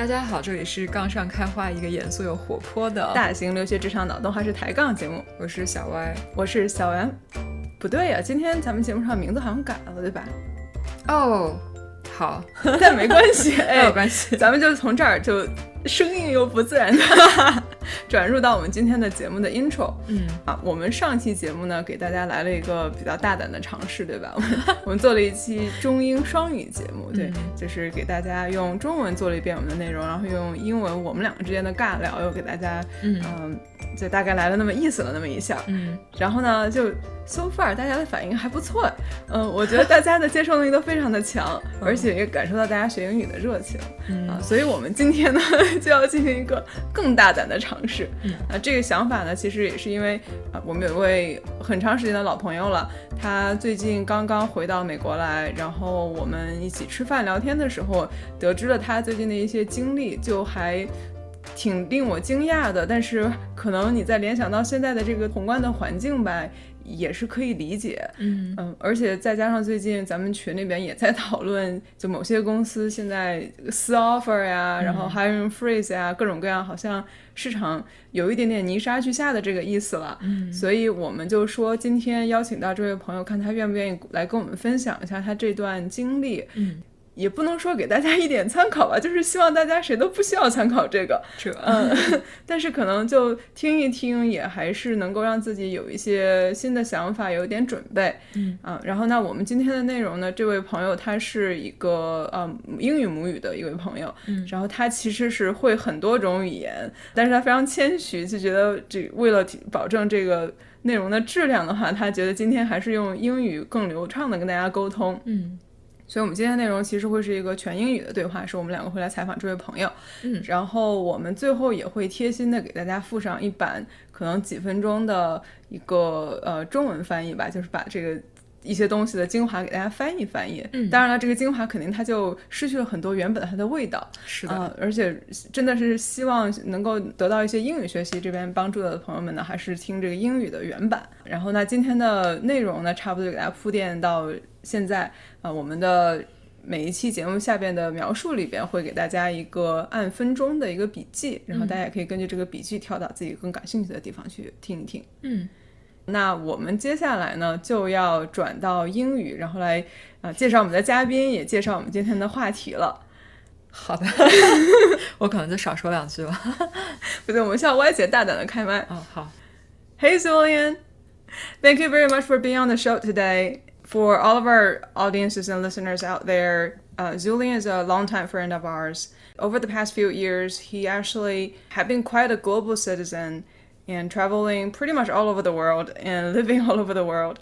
大家好，这里是杠上开花，一个严肃又活泼的大型留学职场脑洞还是抬杠节目。 我是小歪， 我是小袁。不对呀，今天咱们节目上名字好像改了，对吧？ 哦，好， 但没关系， 没有关系， 咱们就从这儿就生硬又不自然的转入到我们今天的节目的 intro。我们上期节目呢，给大家来了一个比较大胆的尝试，对吧？我们做了一期中英双语节目，对，就是给大家用中文做了一遍我们的内容，然后用英文我们两个之间的尬聊又给大家，就大概来了那么意思了那么一下。然后呢，就 so far 大家的反应还不错，我觉得大家的接受能力都非常的强，而且也感受到大家学英语的热情，所以我们今天呢就要进行一个更大胆的尝试。这个想法呢，其实也是因为我们有一位很长时间的老朋友了，他最近刚刚回到美国来，然后我们一起吃饭聊天的时候，得知了他最近的一些经历，就还挺令我惊讶的。但是可能你在联想到现在的这个宏观的环境吧，也是可以理解。而且再加上最近咱们群里边也在讨论，就某些公司现在撕 offer 呀，然后 hiring freeze 呀，各种各样，好像市场有一点点泥沙俱下的这个意思了。所以我们就说今天邀请到这位朋友，看他愿不愿意来跟我们分享一下他这段经历。也不能说给大家一点参考吧，就是希望大家谁都不需要参考这个，但是可能就听一听，也还是能够让自己有一些新的想法，有一点准备。然后呢，我们今天的内容呢，这位朋友他是一个英语母语的一位朋友，然后他其实是会很多种语言，但是他非常谦虚，就觉得为了保证这个内容的质量的话，他觉得今天还是用英语更流畅的跟大家沟通。所以我们今天的内容其实会是一个全英语的对话，是我们两个会来采访这位朋友。然后我们最后也会贴心的给大家附上一版可能几分钟的一个中文翻译吧，就是把这个一些东西的精华给大家翻译翻译。当然了，这个精华肯定它就失去了很多原本它的味道。 是的， 而且真的是希望能够得到一些英语学习这边帮助的朋友们呢，还是听这个英语的原版。然后呢，今天的内容呢，差不多就给大家铺垫到现在。我们的每一期节目下边的描述里边会给大家一个按分钟的一个笔记，然后大家也可以根据这个笔记跳到自己更感兴趣的地方去听一听。那我们接下来呢就要转到英语，然后来介绍我们的嘉宾，也介绍我们今天的话题了。 好的我可能就少说两句了不对，我们向歪姐大胆的开麦。 好。 Hey Zulian, thank you very much for being on the show today.For all of our audiences and listeners out there, Zulian is a longtime friend of ours. Over the past few years, he actually had been quite a global citizen and traveling pretty much all over the world and living all over the world.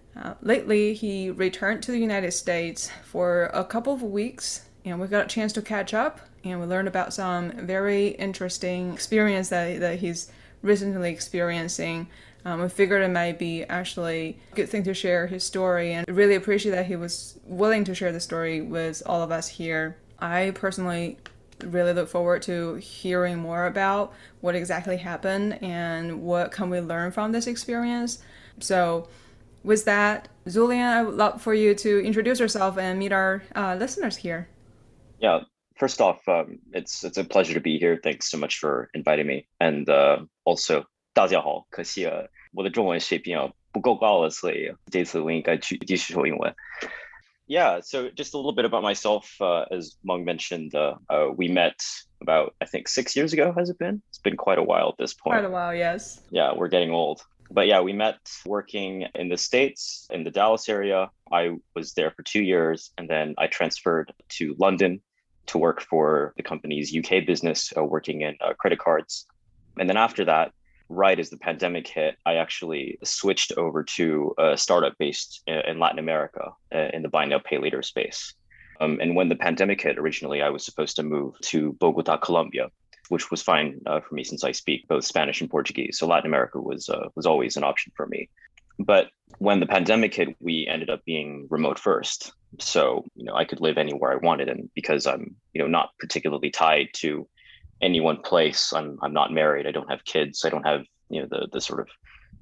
Lately, he returned to the United States for a couple of weeks, and we got a chance to catch up, and we learned about some very interesting experience that he's recently experiencing.We figured it might be actually a good thing to share his story, and really appreciate that he was willing to share the story with all of us here. I personally really look forward to hearing more about what exactly happened and what can we learn from this experience. So with that, Zulian, I would love for you to introduce yourself and meet our listeners here. Yeah, first off, it's a pleasure to be here. Thanks so much for inviting me. And also, 大家好，可惜我的中文水平不够高了，所以这次我应该去继续说英文。Yeah, so just a little bit about myself. As Meng mentioned, we met about, I think, 6 years ago, has it been? It's been quite a while at this point. Quite a while, yes. Yeah, we're getting old. But yeah, we met working in the States, in the Dallas area. I was there for 2 years, and then I transferred to London to work for the company's UK business, working in credit cards. And then after that, right as the pandemic hit, I actually switched over to a startup based in Latin America in the buy now, pay later space. And when the pandemic hit, originally I was supposed to move to Bogota, Colombia, which was fine for me since I speak both Spanish and Portuguese. So Latin America was always an option for me. But when the pandemic hit, we ended up being remote first. So, I could live anywhere I wanted. And because I'm, not particularly tied to any one place, I'm not married, I don't have kids, I don't have the sort of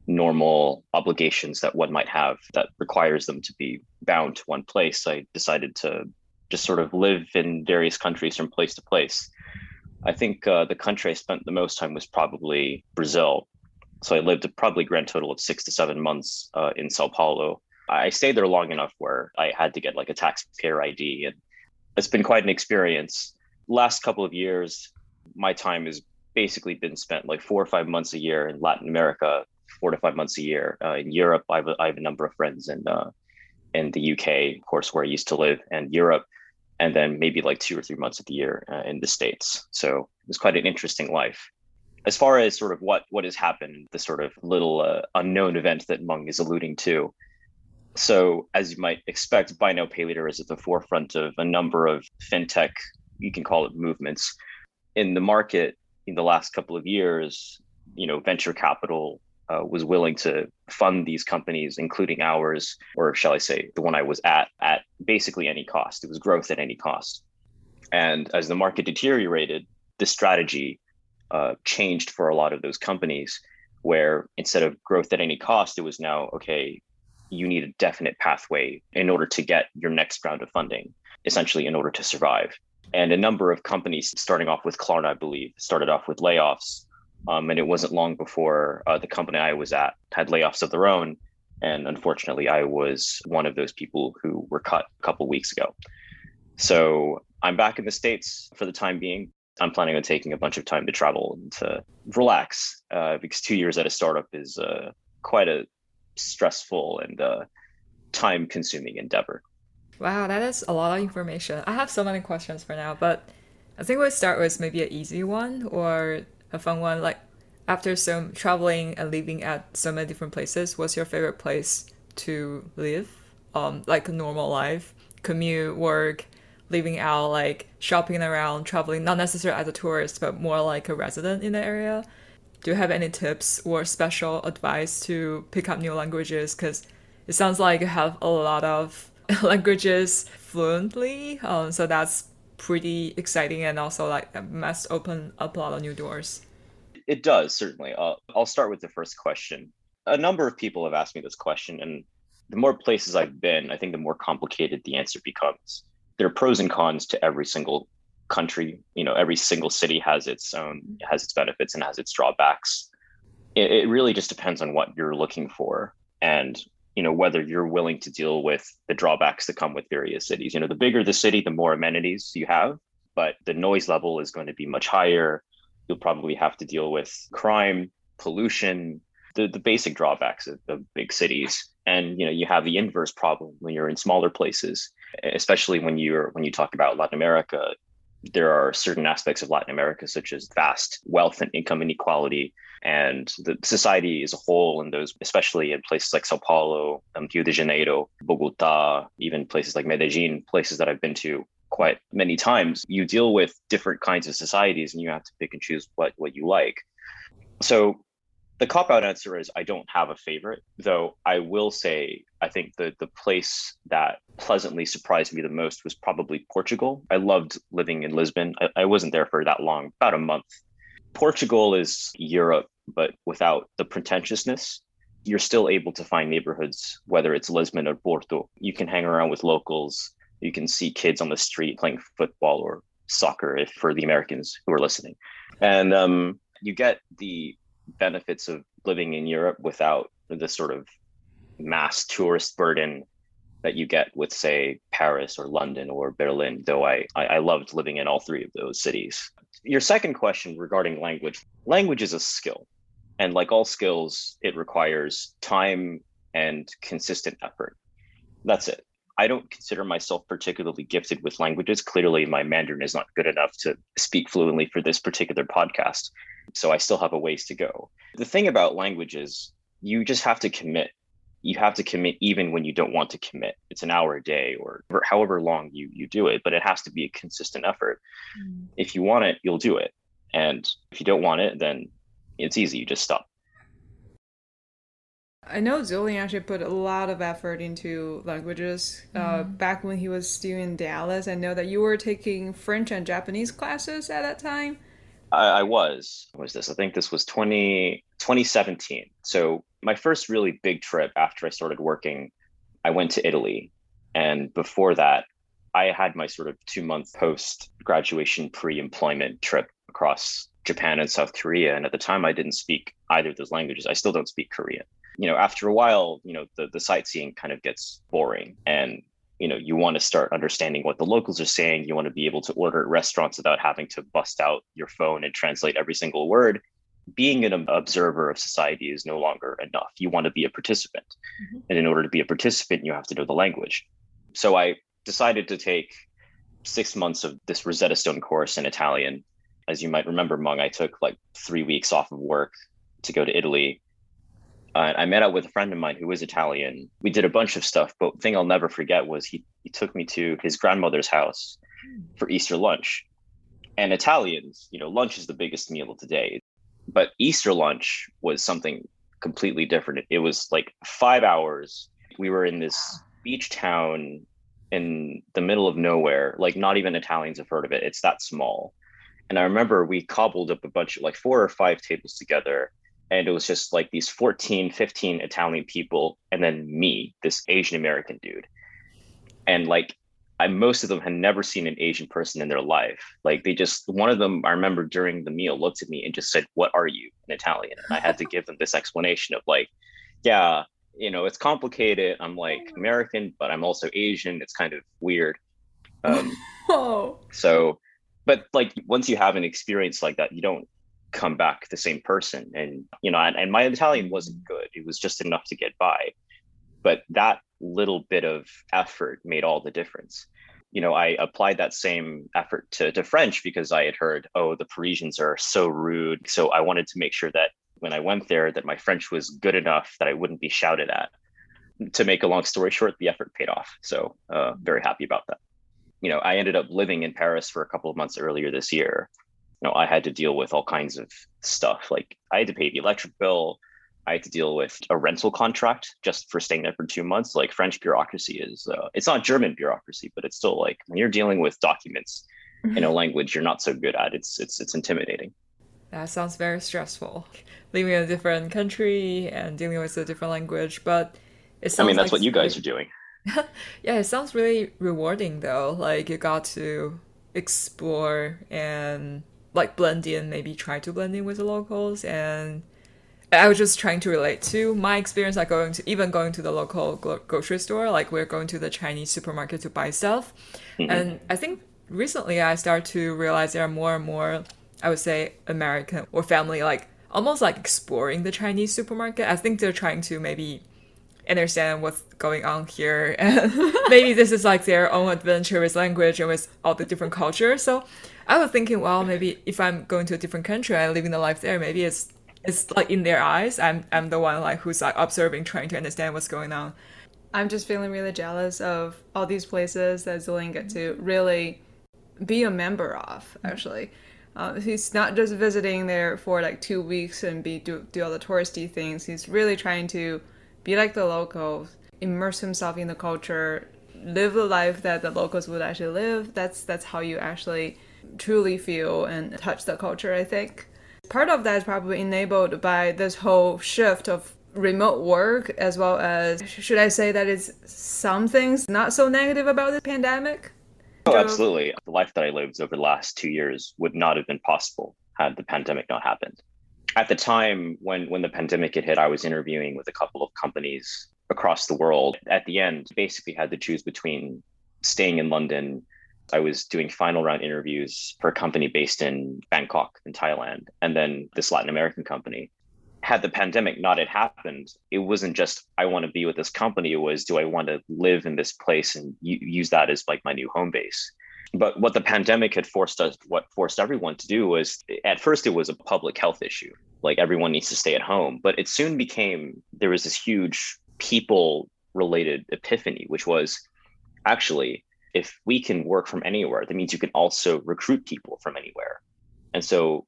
normal obligations that one might have that requires them to be bound to one place. I decided to just sort of live in various countries from place to place. I think the country I spent the most time was probably Brazil. So I lived a probably grand total of 6 to 7 months in Sao Paulo. I stayed there long enough where I had to get like a taxpayer ID, and it's been quite an experience. Last couple of years, my time has basically been spent like 4 or 5 months a year in Latin America, 4 to 5 months a year in Europe. I have a number of friends in the UK, of course, where I used to live, and Europe, and then maybe like 2 or 3 months of the year in the States. So it was quite an interesting life. As far as sort of what has happened, the sort of little unknown event that Meng is alluding to. So as you might expect, buy now, pay later is at the forefront of a number of fintech, you can call it movements in the market in the last couple of years. Venture capital was willing to fund these companies, including ours, or shall I say, the one I was at basically any cost. It was growth at any cost. And as the market deteriorated, the strategy changed for a lot of those companies, where instead of growth at any cost, it was now, okay, you need a definite pathway in order to get your next round of funding, essentially in order to survive. And a number of companies, starting off with Klarna, I believe, started off with layoffs. And it wasn't long before the company I was at had layoffs of their own. And unfortunately, I was one of those people who were cut a couple of weeks ago. So I'm back in the States for the time being. I'm planning on taking a bunch of time to travel and to relax because 2 years at a startup is quite a stressful and time-consuming endeavor. Wow, that is a lot of information. I have so many questions for now, but I think we'll start with maybe an easy one or a fun one. Like, after some traveling and living at so many different places, what's your favorite place to live? Like a normal life, commute, work, living out, like shopping around, traveling, not necessarily as a tourist, but more like a resident in the area. Do you have any tips or special advice to pick up new languages? Because it sounds like you have a lot of languages fluently, so that's pretty exciting, and also like must open up a lot of new doors. It does, certainly. I'll start with the first question. A number of people have asked me this question, and the more places I've been, I think the more complicated the answer becomes. There are pros and cons to every single country. Every single city has its benefits and has its drawbacks. It really just depends on what you're looking for, and whether you're willing to deal with the drawbacks that come with various cities. The bigger the city, the more amenities you have, but the noise level is going to be much higher. You'll probably have to deal with crime, pollution, the basic drawbacks of big cities. And you have the inverse problem when you're in smaller places, especially when you talk about Latin America. There are certain aspects of Latin America, such as vast wealth and income inequality, and the society as a whole, and those, especially in places like Sao Paulo, Rio de Janeiro, Bogota, even places like Medellin, places that I've been to quite many times, you deal with different kinds of societies, and you have to pick and choose what you like. So the cop-out answer is I don't have a favorite, though I will say I think the place that pleasantly surprised me the most was probably Portugal. I loved living in Lisbon. I wasn't there for that long, about a month. Portugal is Europe, but without the pretentiousness. You're still able to find neighborhoods, whether it's Lisbon or Porto. You can hang around with locals. You can see kids on the street playing football or soccer, if for the Americans who are listening. And you get the benefits of living in Europe without the sort of mass tourist burden that you get with, say, Paris or London or Berlin, though I loved living in all three of those cities. Your second question regarding language is a skill. And like all skills, it requires time and consistent effort. That's it. I don't consider myself particularly gifted with languages. Clearly, my Mandarin is not good enough to speak fluently for this particular podcast. So I still have a ways to go. The thing about language is you just have to commit. You have to commit even when you don't want to commit. It's an hour a day or however long you do it, but it has to be a consistent effort. If you want it, you'll do it. And if you don't want it, then it's easy. You just stop. I know Julian actually put a lot of effort into languages. Back when he was still in Dallas, I know that you were taking French and Japanese classes at that time. I was. What was this? I think this was 2017. So my first really big trip after I started working, I went to Italy. And before that, I had my sort of 2-month post-graduation pre-employment trip across Japan and South Korea. And at the time, I didn't speak either of those languages. I still don't speak Korean. After a while, the sightseeing kind of gets boring, and you want to start understanding what the locals are saying. You want to be able to order at restaurants without having to bust out your phone and translate every single word. Being an observer of society is no longer enough. You want to be a participant. Mm-hmm. And in order to be a participant, you have to know the language. So I decided to take 6 months of this Rosetta Stone course in Italian. As you might remember, Meng, I took like 3 weeks off of work to go to Italy. I met up with a friend of mine who was Italian. We did a bunch of stuff, but the thing I'll never forget was he took me to his grandmother's house for Easter lunch. And Italians, lunch is the biggest meal of the day. But Easter lunch was something completely different. It was like 5 hours. We were in this beach town in the middle of nowhere. Like not even Italians have heard of it. It's that small. And I remember we cobbled up a bunch of like 4 or 5 tables together. And it was just like these 14, 15 Italian people, and then me, this Asian American dude. And like, most of them had never seen an Asian person in their life. Like one of them, I remember during the meal, looked at me and just said, "What are you?" in Italian. And I had to give them this explanation of like, yeah, it's complicated. I'm like American, but I'm also Asian. It's kind of weird. So, but like, once you have an experience like that, you don't come back the same person. And and my Italian wasn't good. It was just enough to get by, but that little bit of effort made all the difference. I applied that same effort to French because I had heard, oh, the Parisians are so rude. So I wanted to make sure that when I went there, that my French was good enough that I wouldn't be shouted at. To make a long story short, the effort paid off. So very happy about that. I ended up living in Paris for a couple of months earlier this year. I had to deal with all kinds of stuff. Like I had to pay the electric bill. I had to deal with a rental contract just for staying there for 2 months. Like French bureaucracy is, it's not German bureaucracy, but it's still like when you're dealing with documents in a language you're not so good at, it's intimidating. That sounds very stressful. Living in a different country and dealing with a different language, but it sounds that's what you guys are doing. Yeah, it sounds really rewarding though. Like you got to explore and like blend in, maybe try to blend in with the locals. And I was just trying to relate to my experience, like going to the local grocery store. Like we're going to the Chinese supermarket to buy stuff. Mm-hmm. And I think recently I started to realize there are more and more, I would say, American or family, like almost like exploring the Chinese supermarket. I think they're trying to maybe understand what's going on here. And maybe this is like their own adventure with language and with all the different cultures. So I was thinking, well, maybe if I'm going to a different country and living the life there, maybe it's like in their eyes, I'm the one like who's like observing, trying to understand what's going on. I'm just feeling really jealous of all these places that Zillian get to really be a member of, actually. He's not just visiting there for like 2 weeks and do all the touristy things. He's really trying to be like the locals, immerse himself in the culture, live the life that the locals would actually live. That's how you actually truly feel and touch the culture, I think. Part of that is probably enabled by this whole shift of remote work, as well as, should I say that it's some things not so negative about the pandemic? Oh, absolutely. The life that I lived over the last 2 years would not have been possible had the pandemic not happened. At the time when the pandemic had hit, I was interviewing with a couple of companies across the world. At the end, basically had to choose between staying in London. I was doing final round interviews for a company based in Bangkok in Thailand, and then this Latin American company. Had the pandemic not had happened, it wasn't just, I want to be with this company. It was, do I want to live in this place and use that as like my new home base? But what the pandemic had forced everyone to do was, at first it was a public health issue. Like everyone needs to stay at home. But it soon became, there was this huge people related epiphany, which was actually, if we can work from anywhere, that means you can also recruit people from anywhere. And so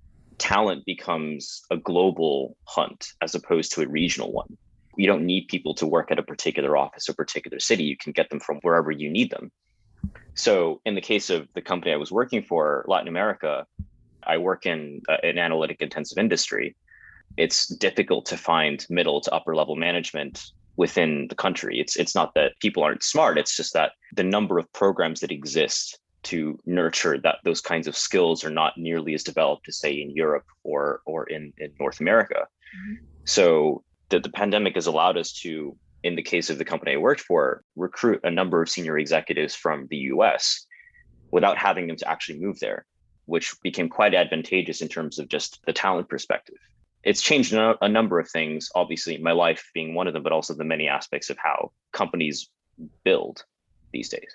talent becomes a global hunt as opposed to a regional one. You don't need people to work at a particular office or particular city. You can get them from wherever you need them. So in the case of the company I was working for, Latin America, I work in an analytic intensive industry. It's difficult to find middle to upper level management within the country. It's not that people aren't smart. It's just that the number of programs that exist to nurture those kinds of skills are not nearly as developed as, say, in Europe or in North America. Mm-hmm. So the pandemic has allowed us to, in the case of the company I worked for, recruit a number of senior executives from the US without having them to actually move there, which became quite advantageous in terms of just the talent perspective. It's changed a number of things, obviously, my life being one of them, but also the many aspects of how companies build these days.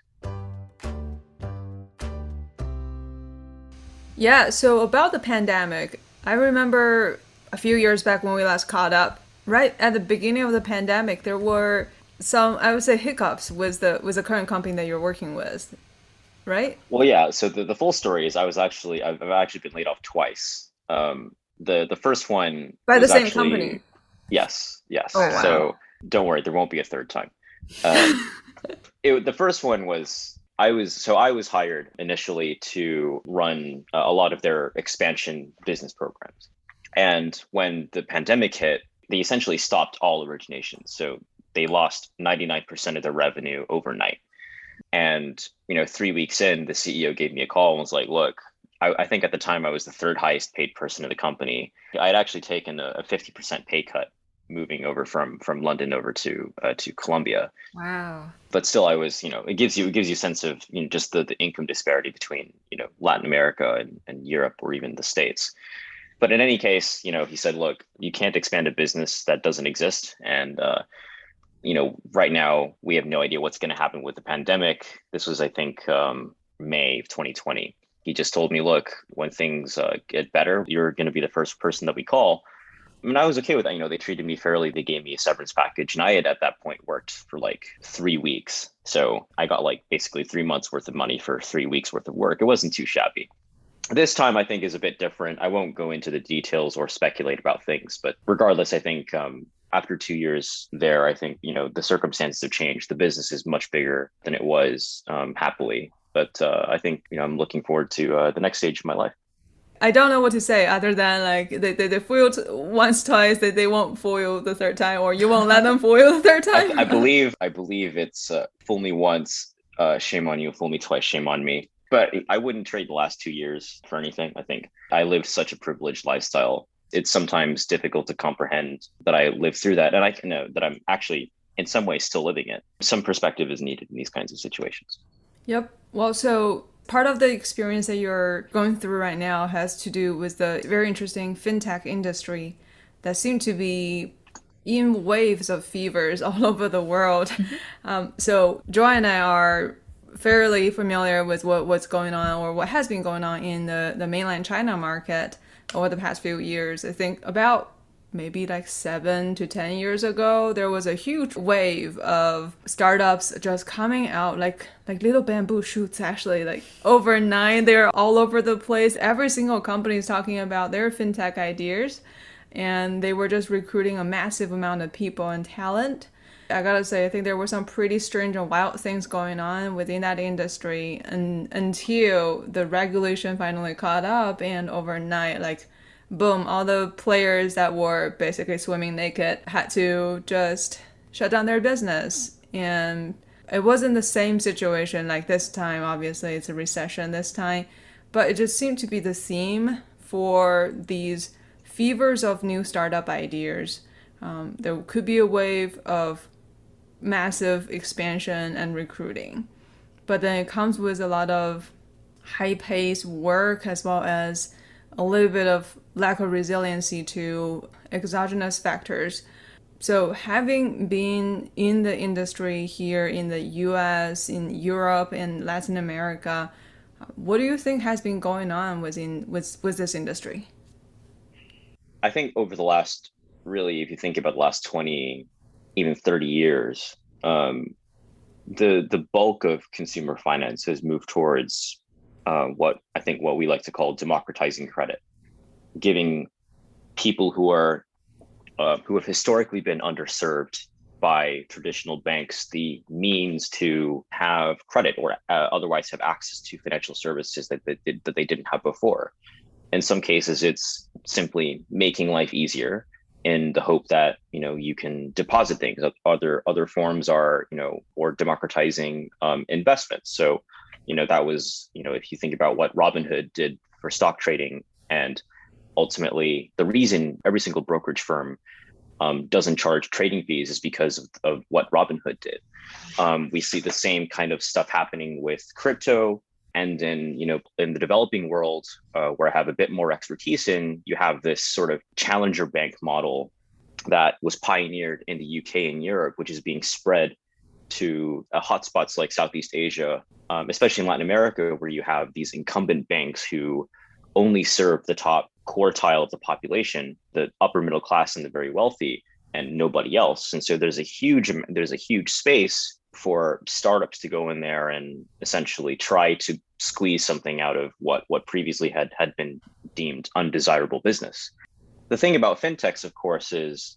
Yeah, so about the pandemic, I remember a few years back when we last caught up, right at the beginning of the pandemic, there were some, I would say, hiccups with the current company that you're working with, right? Well, yeah. So the full story is I've actually been laid off twice. The first one by the same company. Yes. Oh, wow. So don't worry, there won't be a third time. The first one was I was hired initially to run a lot of their expansion business programs, and when the pandemic hit, they essentially stopped all originations. So they lost 99% of their revenue overnight. And 3 weeks in, the CEO gave me a call and was like, "Look, I think at the time I was the third highest paid person in the company. I had actually taken a 50% pay cut moving over from London over to Colombia. Wow. But still, I was, it gives you a sense of just the income disparity between Latin America and Europe or even the States. But in any case, he said, look, you can't expand a business that doesn't exist, and right now we have no idea what's going to happen with the pandemic. This was, I think, May of 2020. He just told me, look, when things get better, you're going to be the first person that we call. I mean, I was okay with that. They treated me fairly. They gave me a severance package. And I had, at that point, worked for like 3 weeks. So I got like basically 3 months worth of money for 3 weeks worth of work. It wasn't too shabby. This time, I think, is a bit different. I won't go into the details or speculate about things. But regardless, I think after 2 years there, I think, the circumstances have changed. The business is much bigger than it was, happily. But I think, I'm looking forward to the next stage of my life. I don't know what to say other than like they fooled once, twice, that they won't fool the third time, or you won't let them fool the third time. I believe it's fool me once, shame on you, fool me twice, shame on me. But I wouldn't trade the last 2 years for anything. I think I lived such a privileged lifestyle. It's sometimes difficult to comprehend that I lived through that, and I can know that I'm actually in some ways still living it. Some perspective is needed in these kinds of situations. Yep. Well, so part of the experience that you're going through right now has to do with the very interesting fintech industry that seem to be in waves of fevers all over the world. So Joy and I are fairly familiar with what's going on, or what has been going on in the mainland China market over the past few years. I think about maybe like 7 to 10 years ago, there was a huge wave of startups just coming out like little bamboo shoots, actually, like overnight. They're all over the place. Every single company is talking about their fintech ideas, and they were just recruiting a massive amount of people and talent. I gotta say, I think there were some pretty strange and wild things going on within that industry, and until the regulation finally caught up, and overnight, like, boom, all the players that were basically swimming naked had to just shut down their business. And it wasn't the same situation like this time. Obviously, it's a recession this time. But it just seemed to be the theme for these fevers of new startup ideas. There could be a wave of massive expansion and recruiting. But then it comes with a lot of high-paced work, as well as a little bit of lack of resiliency to exogenous factors. So having been in the industry here in the US, in Europe, and Latin America, what do you think has been going on with this industry? I think over the last, really, if you think about the last 20, even 30 years, the bulk of consumer finance has moved towards what we like to call democratizing credit, giving people who have historically been underserved by traditional banks the means to have credit, or otherwise have access to financial services that they didn't have before. In some cases, it's simply making life easier in the hope that you can deposit things. Other forms are or democratizing investments. So That was, if you think about what Robinhood did for stock trading, and ultimately the reason every single brokerage firm doesn't charge trading fees is because of what Robinhood did. We see the same kind of stuff happening with crypto. And then, in the developing world, where I have a bit more expertise in, you have this sort of challenger bank model that was pioneered in the UK and Europe, which is being spread to hotspots like Southeast Asia, especially in Latin America, where you have these incumbent banks who only serve the top quartile of the population, the upper middle class and the very wealthy, and nobody else. And so there's a huge space for startups to go in there and essentially try to squeeze something out of what previously had been deemed undesirable business. The thing about fintechs, of course, is,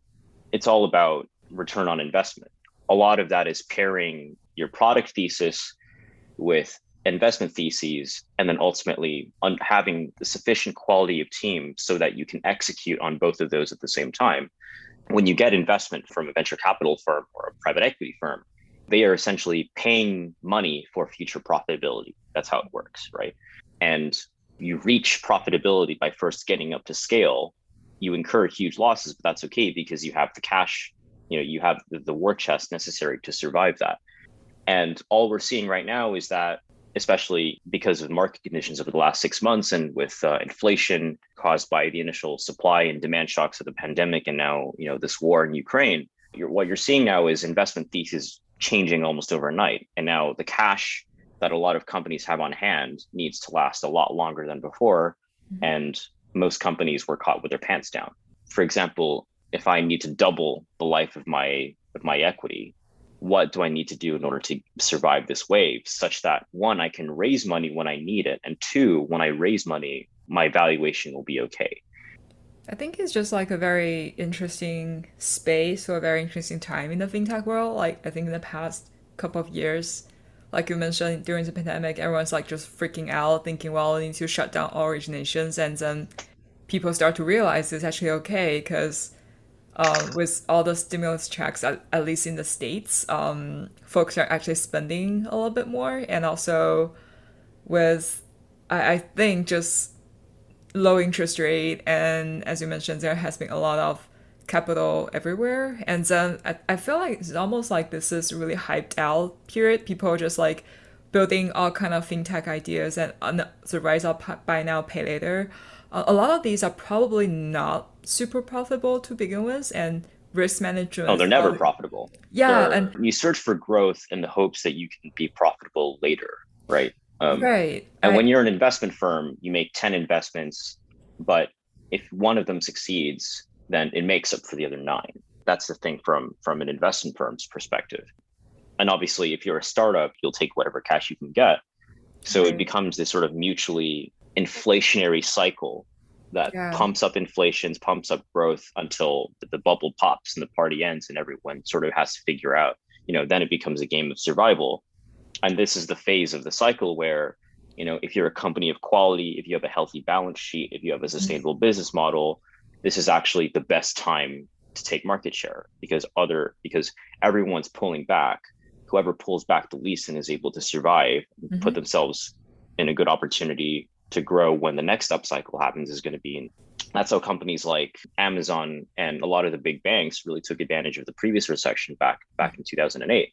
it's all about return on investment. A lot of that is pairing your product thesis with investment theses, and then ultimately having the sufficient quality of team so that you can execute on both of those at the same time. When you get investment from a venture capital firm or a private equity firm, they are essentially paying money for future profitability. That's how it works, right? And you reach profitability by first getting up to scale. You incur huge losses, but that's okay because you have the cash, you have the war chest necessary to survive that. And all we're seeing right now is that, especially because of market conditions over the last 6 months and with inflation caused by the initial supply and demand shocks of the pandemic, and now, this war in Ukraine, what you're seeing now is investment thesis changing almost overnight. And now the cash that a lot of companies have on hand needs to last a lot longer than before. Mm-hmm. And most companies were caught with their pants down. For example, if I need to double the life of my equity, what do I need to do in order to survive this wave, such that one, I can raise money when I need it, and two, when I raise money, my valuation will be okay. I think it's just like a very interesting space or a very interesting time in the fintech world. Like, I think in the past couple of years, like you mentioned, during the pandemic, everyone's like just freaking out, thinking, well, we need to shut down all originations. And then people start to realize it's actually okay because with all the stimulus checks, at least in the States, folks are actually spending a little bit more. And also with, I think, just low interest rate, and as you mentioned, there has been a lot of capital everywhere, and then I feel like it's almost like this is really hyped out period. People are just like building all kind of fintech ideas, and on the rise of buy now pay later, a lot of these are probably not super profitable to begin with, and risk management. Oh, they're never profitable. Yeah, and you search for growth in the hopes that you can be profitable later, right? Right. And when you're an investment firm, you make 10 investments, but if one of them succeeds, then it makes up for the other 9. That's the thing from an investment firm's perspective. And obviously, if you're a startup, you'll take whatever cash you can get. So It becomes this sort of mutually inflationary cycle that pumps up inflations, pumps up growth until the bubble pops and the party ends and everyone sort of has to figure out, then it becomes a game of survival. And this is the phase of the cycle where, if you're a company of quality, if you have a healthy balance sheet, if you have a sustainable business model, this is actually the best time to take market share because everyone's pulling back. Whoever pulls back the least and is able to survive, put themselves in a good opportunity to grow when the next upcycle happens is going to be. That's how companies like Amazon and a lot of the big banks really took advantage of the previous recession back in 2008.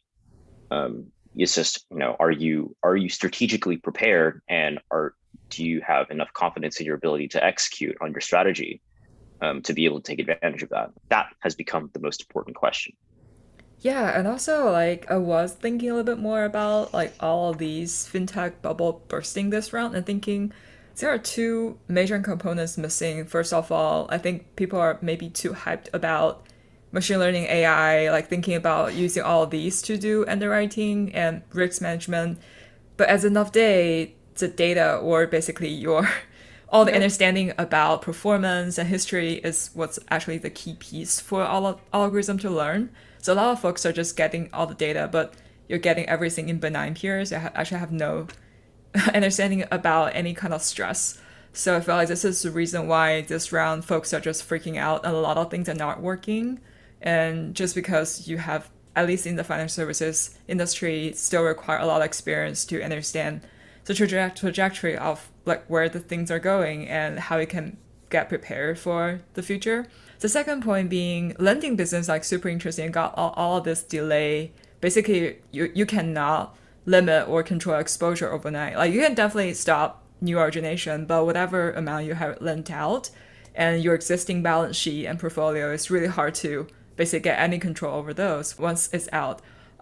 It's just, are you strategically prepared, and do you have enough confidence in your ability to execute on your strategy to be able to take advantage of that? That has become the most important question. Yeah, and also like I was thinking a little bit more about like all of these fintech bubble bursting this round, and thinking there are 2 major components missing. First of all, I think people are maybe too hyped about machine learning, AI, like thinking about using all of these to do underwriting and risk management. But at the end of the day, the data, or basically your all the understanding about performance and history, is what's actually the key piece for all algorithm to learn. So a lot of folks are just getting all the data, but you're getting everything in benign peers. You actually have no understanding about any kind of stress. So I feel like this is the reason why this round folks are just freaking out and a lot of things are not working. And just because you have at least in the financial services industry, still require a lot of experience to understand the trajectory of like where the things are going and how you can get prepared for the future. The second point being lending business, like super interesting, got all of this delay. Basically, you cannot limit or control exposure overnight. Like you can definitely stop new origination, but whatever amount you have lent out and your existing balance sheet and portfolio, it's really hard to basically get any control over those once it's out.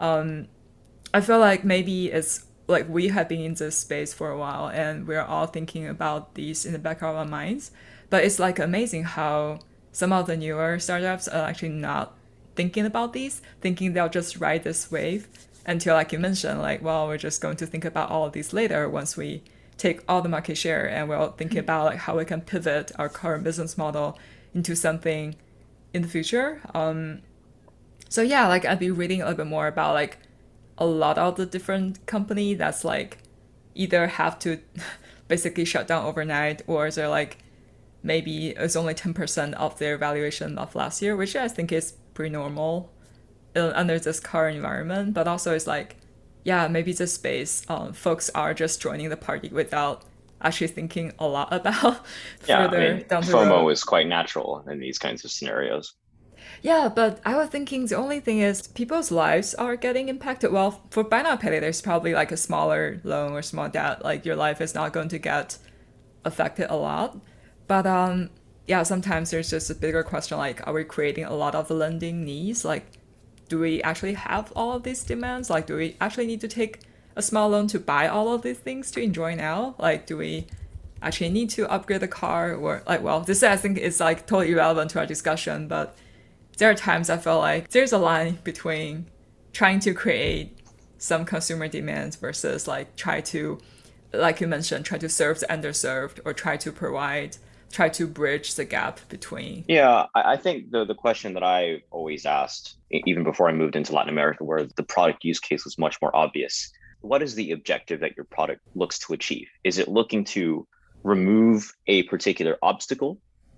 I feel like maybe it's like we have been in this space for a while and we're all thinking about these in the back of our minds, but it's like amazing how some of the newer startups are actually not thinking about these, thinking they'll just ride this wave until, like you mentioned, like, well, we're just going to think about all of these later once we take all the market share, and we're thinking about like how we can pivot our current business model into something in the future. So yeah, like I'd be reading a little bit more about like a lot of the different company that's like either have to basically shut down overnight, or they're like maybe it's only 10% of their valuation of last year, which I think is pretty normal under this current environment. But also it's like, yeah, maybe this space, folks are just joining the party without actually thinking a lot about further down the road. FOMO is quite natural in these kinds of scenarios. Yeah, but I was thinking the only thing is people's lives are getting impacted. Well, for buy now pay later, there's probably like a smaller loan or small debt. Like your life is not going to get affected a lot. But yeah, sometimes there's just a bigger question like, are we creating a lot of the lending needs? Like, do we actually have all of these demands? Like, do we actually need to take a small loan to buy all of these things to enjoy now? Like, do we actually need to upgrade the car? Or like, well, this I think is like totally irrelevant to our discussion, but there are times I feel like there's a line between trying to create some consumer demands versus like try to, like you mentioned, try to serve the underserved or try to bridge the gap between. Yeah, I think the question that I always asked, even before I moved into Latin America, where the product use case was much more obvious, what is the objective that your product looks to achieve? Is it looking to remove a particular obstacle,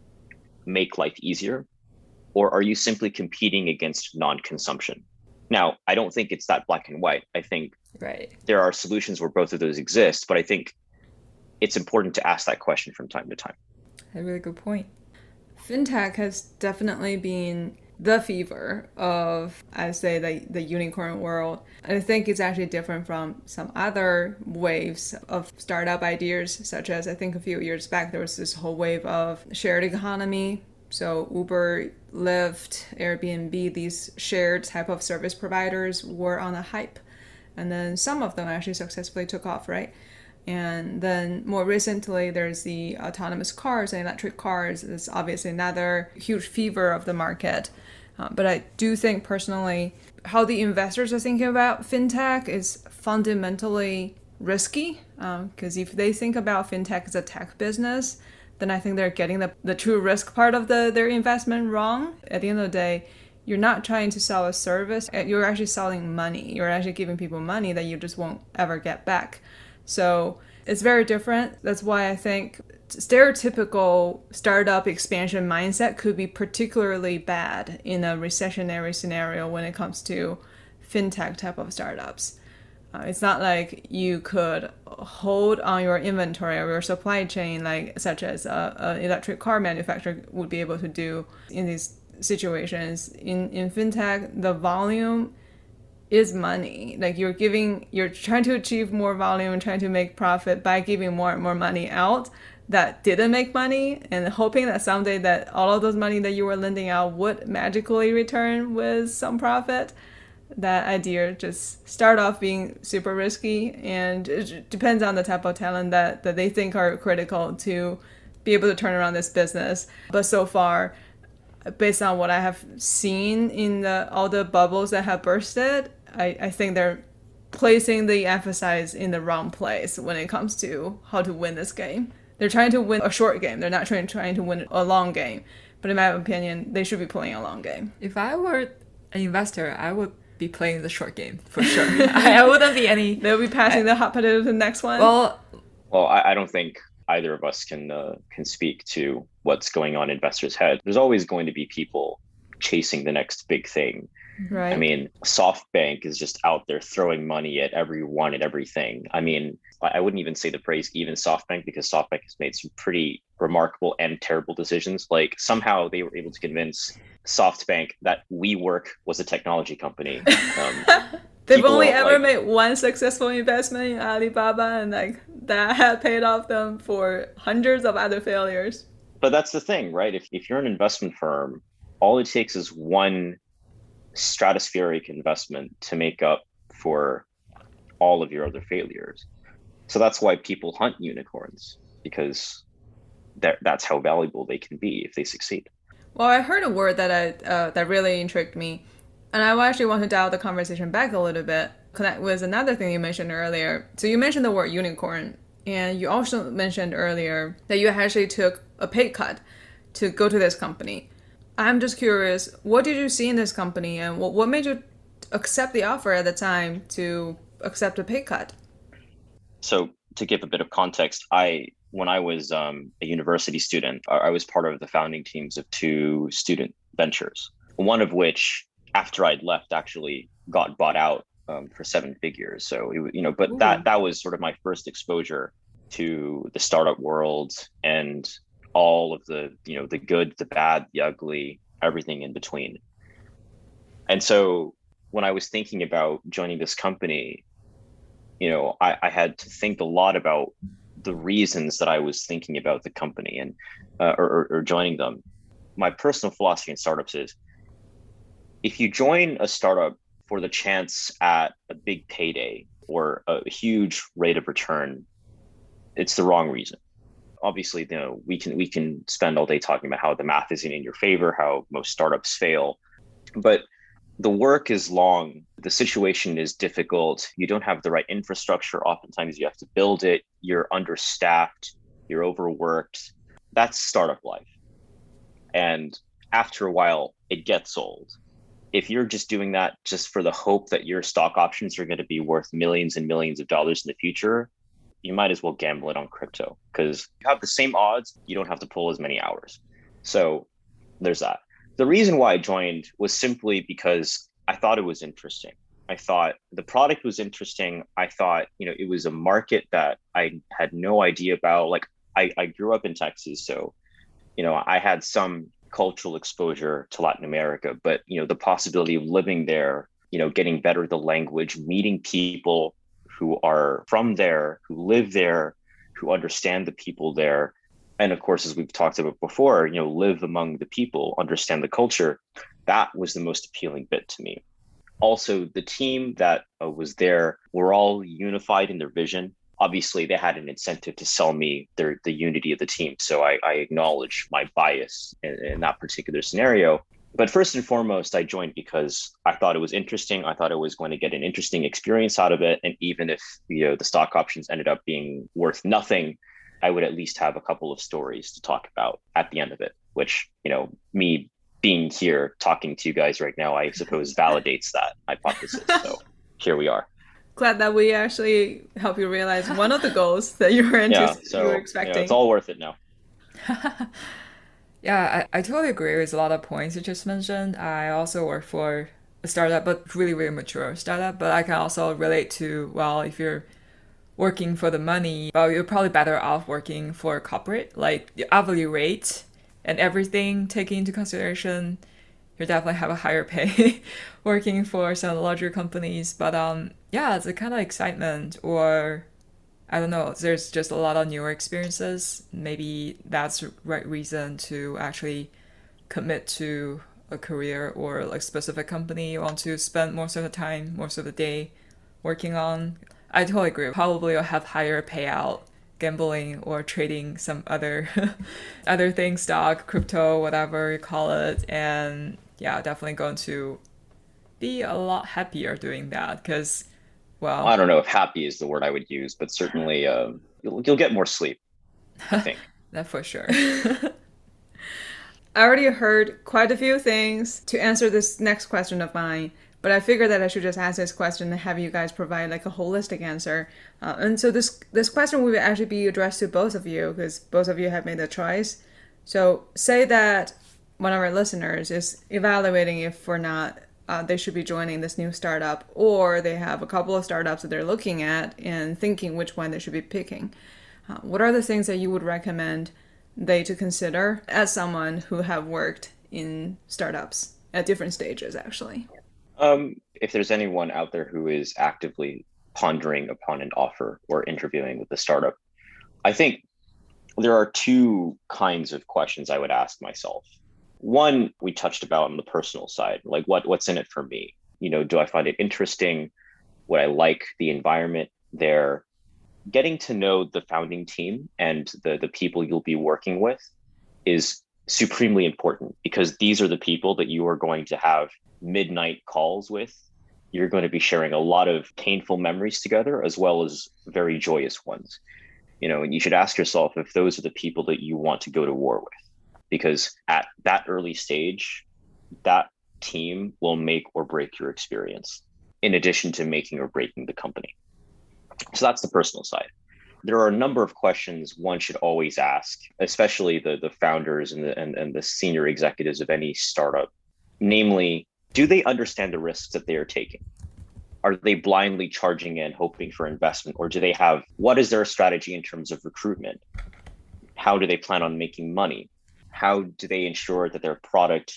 make life easier, or are you simply competing against non-consumption? Now, I don't think it's that black and white. I think there are solutions where both of those exist, but I think it's important to ask that question from time to time. A really good point. Fintech has definitely been the fever of, I'd say, the unicorn world. I think it's actually different from some other waves of startup ideas, such as I think a few years back, there was this whole wave of shared economy. So Uber, Lyft, Airbnb, these shared type of service providers were on a hype. And then some of them actually successfully took off, right? And then more recently, there's the autonomous cars and electric cars. It's obviously another huge fever of the market. But I do think personally, how the investors are thinking about fintech is fundamentally risky. Because if they think about fintech as a tech business, then I think they're getting the true risk part of their investment wrong. At the end of the day, you're not trying to sell a service. You're actually selling money. You're actually giving people money that you just won't ever get back. So it's very different. That's why I think stereotypical startup expansion mindset could be particularly bad in a recessionary scenario when it comes to fintech type of startups. It's not like you could hold on your inventory or your supply chain, like such as an electric car manufacturer would be able to do in these situations. In fintech, the volume is money. Like you're trying to achieve more volume and trying to make profit by giving more and more money out that didn't make money and hoping that someday that all of those money that you were lending out would magically return with some profit. That idea just start off being super risky, and it depends on the type of talent that they think are critical to be able to turn around this business. But so far, based on what I have seen in all the bubbles that have bursted, I think they're placing the emphasis in the wrong place when it comes to how to win this game. They're trying to win a short game. They're not trying to win a long game. But in my opinion, they should be playing a long game. If I were an investor, I would be playing the short game for sure. I wouldn't be any. They'll be passing the hot potato to the next one. Well, I don't think either of us can speak to what's going on in investors' heads. There's always going to be people chasing the next big thing. Right. I mean, SoftBank is just out there throwing money at everyone and everything. I mean, I wouldn't even say the phrase even SoftBank, because SoftBank has made some pretty remarkable and terrible decisions. Like somehow they were able to convince SoftBank that WeWork was a technology company. They've only ever made one successful investment in Alibaba, and like that had paid off them for hundreds of other failures. But that's the thing, right? If you're an investment firm, all it takes is one stratospheric investment to make up for all of your other failures. So that's why people hunt unicorns, because that's how valuable they can be if they succeed. Well, I heard a word that really intrigued me, and I actually want to dial the conversation back a little bit, connect with another thing you mentioned earlier. So you mentioned the word unicorn, and you also mentioned earlier that you actually took a pay cut to go to this company. I'm just curious, what did you see in this company, and what made you accept the offer at the time to accept a pay cut? So to give a bit of context, when I was a university student, I was part of the founding teams of 2 student ventures, one of which, after I'd left, actually got bought out for 7 figures. So, but Ooh. that was sort of my first exposure to the startup world and all of the good, the bad, the ugly, everything in between. And so when I was thinking about joining this company, I had to think a lot about the reasons that I was thinking about the company and or joining them. My personal philosophy in startups is, if you join a startup for the chance at a big payday or a huge rate of return, it's the wrong reason. Obviously, we can spend all day talking about how the math isn't in your favor, how most startups fail, but the work is long, the situation is difficult, you don't have the right infrastructure, oftentimes you have to build it, you're understaffed, you're overworked. That's startup life. And after a while, it gets old. If you're just doing that just for the hope that your stock options are going to be worth millions and millions of dollars in the future, you might as well gamble it on crypto, because you have the same odds, you don't have to pull as many hours. So there's that. The reason why I joined was simply because I thought it was interesting. I thought the product was interesting. I thought, it was a market that I had no idea about. Like I grew up in Texas, so, I had some cultural exposure to Latin America, but, the possibility of living there, getting better at the language, meeting people who are from there, who live there, who understand the people there. And of course, as we've talked about before, live among the people, understand the culture. That was the most appealing bit to me. Also, the team that was there were all unified in their vision. Obviously, they had an incentive to sell me the unity of the team. So I acknowledge my bias in that particular scenario. But first and foremost, I joined because I thought it was interesting. I thought I was going to get an interesting experience out of it. And even if the stock options ended up being worth nothing, I would at least have a couple of stories to talk about at the end of it, which, me being here talking to you guys right now, I suppose validates that hypothesis. So here we are. Glad that we actually help you realize one of the goals that you were you were expecting. It's all worth it now. Yeah, I totally agree with a lot of points you just mentioned. I also work for a startup, but really, really mature startup. But I can also relate to, well, if you're working for the money, well, you're probably better off working for a corporate, like the hourly rate and everything taken into consideration. You definitely have a higher pay working for some larger companies. But yeah, it's a kind of excitement, or I don't know, there's just a lot of newer experiences. Maybe that's the right reason to actually commit to a career or like specific company you want to spend most of the time, most of the day working on. I totally agree. Probably you'll have higher payout gambling or trading some other other things, stock, crypto, whatever you call it. And yeah, definitely going to be a lot happier doing that because, well, I don't know if happy is the word I would use, but certainly you'll get more sleep, I think. That for sure. I already heard quite a few things to answer this next question of mine, but I figured that I should just ask this question and have you guys provide like a holistic answer. And so this question will actually be addressed to both of you because both of you have made the choice. So say that one of our listeners is evaluating if or not they should be joining this new startup, or they have a couple of startups that they're looking at and thinking which one they should be picking. What are the things that you would recommend they to consider as someone who have worked in startups at different stages, actually? If there's anyone out there who is actively pondering upon an offer or interviewing with a startup, I think there are two kinds of questions I would ask myself. One, we touched about on the personal side, like what's in it for me? Do I find it interesting? Would I like the environment there? Getting to know the founding team and the people you'll be working with is supremely important, because these are the people that you are going to have midnight calls with. You're going to be sharing a lot of painful memories together, as well as very joyous ones. And you should ask yourself if those are the people that you want to go to war with, because at that early stage, that team will make or break your experience, in addition to making or breaking the company. So that's the personal side. There are a number of questions one should always ask, especially the founders and the senior executives of any startup. Namely, do they understand the risks that they are taking? Are they blindly charging in, hoping for investment? Or what is their strategy in terms of recruitment? How do they plan on making money? How do they ensure that their product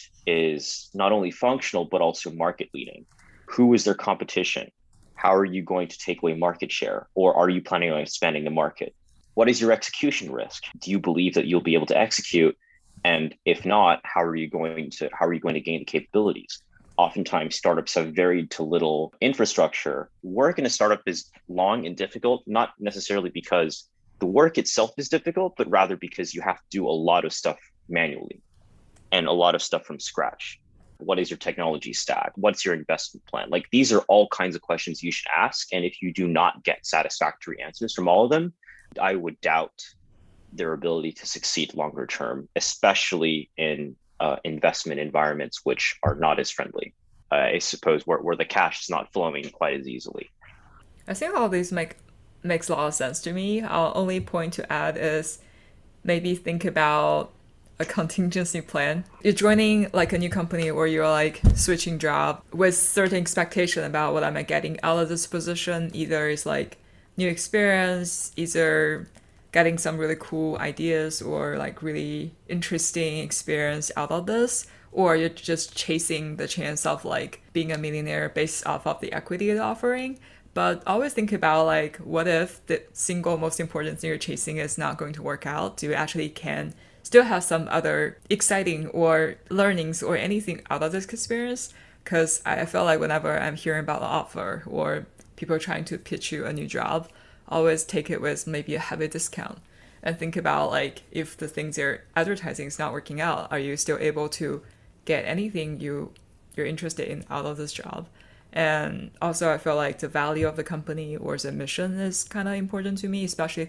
is not only functional, but also market leading? Who is their competition? How are you going to take away market share? Or are you planning on expanding the market? What is your execution risk? Do you believe that you'll be able to execute? And if not, how are you going to gain the capabilities? Oftentimes, startups have very to little infrastructure. Work in a startup is long and difficult, not necessarily because the work itself is difficult, but rather because you have to do a lot of stuff manually and a lot of stuff from scratch. What is your technology stack? What's your investment plan? Like, these are all kinds of questions you should ask. And if you do not get satisfactory answers from all of them, I would doubt their ability to succeed longer term, especially in investment environments which are not as friendly. I suppose where the cash is not flowing quite as easily. I think all these makes a lot of sense to me. Our only point to add is maybe think about a contingency plan. You're joining like a new company, or you're like switching job with certain expectation about what am I getting out of this position. Either it's like new experience, either getting some really cool ideas or like really interesting experience out of this, or you're just chasing the chance of like being a millionaire based off of the equity it's offering. But always think about like, what if the single most important thing you're chasing is not going to work out? Do you actually can still have some other exciting or learnings or anything out of this experience? Because I feel like whenever I'm hearing about an offer or people trying to pitch you a new job, always take it with maybe a heavy discount and think about like, if the things you're advertising is not working out, are you still able to get anything you're interested in out of this job? And also, I feel like the value of the company or the mission is kind of important to me, especially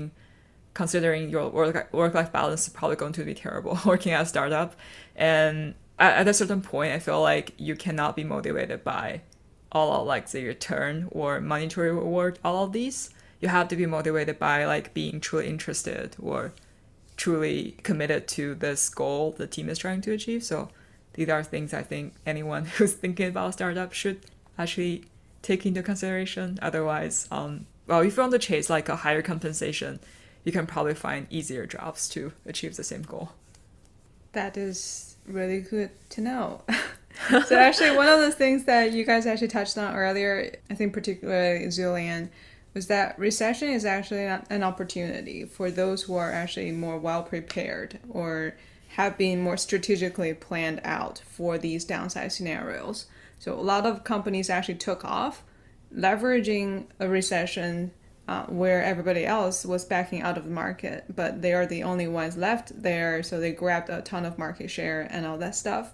considering your work-life balance is probably going to be terrible working at a startup. And at a certain point, I feel like you cannot be motivated by all of like the return or monetary reward, all of these. You have to be motivated by like being truly interested or truly committed to this goal the team is trying to achieve. So these are things I think anyone who's thinking about a startup should actually take into consideration. Otherwise, if you want to chase like a higher compensation, you can probably find easier jobs to achieve the same goal. That is really good to know. So actually, one of the things that you guys actually touched on earlier, I think particularly Julian, was that recession is actually an opportunity for those who are actually more well prepared or have been more strategically planned out for these downside scenarios. So a lot of companies actually took off, leveraging a recession where everybody else was backing out of the market, but they are the only ones left there, so they grabbed a ton of market share and all that stuff.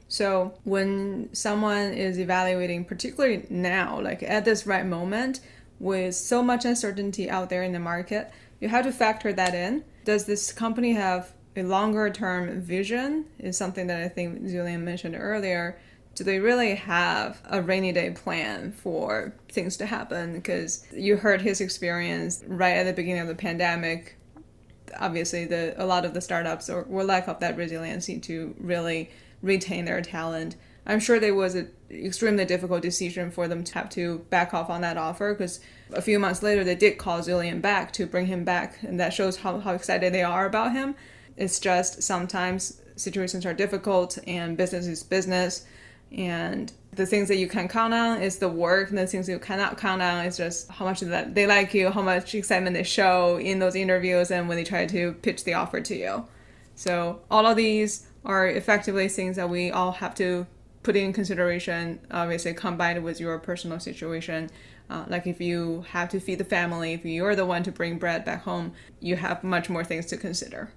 So when someone is evaluating, particularly now, like at this right moment, with so much uncertainty out there in the market, you have to factor that in. Does this company have a longer term vision? Is something that I think Julian mentioned earlier. Do they really have a rainy day plan for things to happen? Because you heard his experience right at the beginning of the pandemic. Obviously, a lot of the startups were lack of that resiliency to really retain their talent. I'm sure there was an extremely difficult decision for them to have to back off on that offer, because a few months later they did call Zillion back to bring him back, and that shows how excited they are about him. It's just sometimes situations are difficult and business is business, and the things that you can count on is the work, and the things you cannot count on is just how much that they like you, how much excitement they show in those interviews and when they try to pitch the offer to you. So all of these are effectively things that we all have to put in consideration, obviously combined with your personal situation. Like if you have to feed the family, if you're the one to bring bread back home, you have much more things to consider.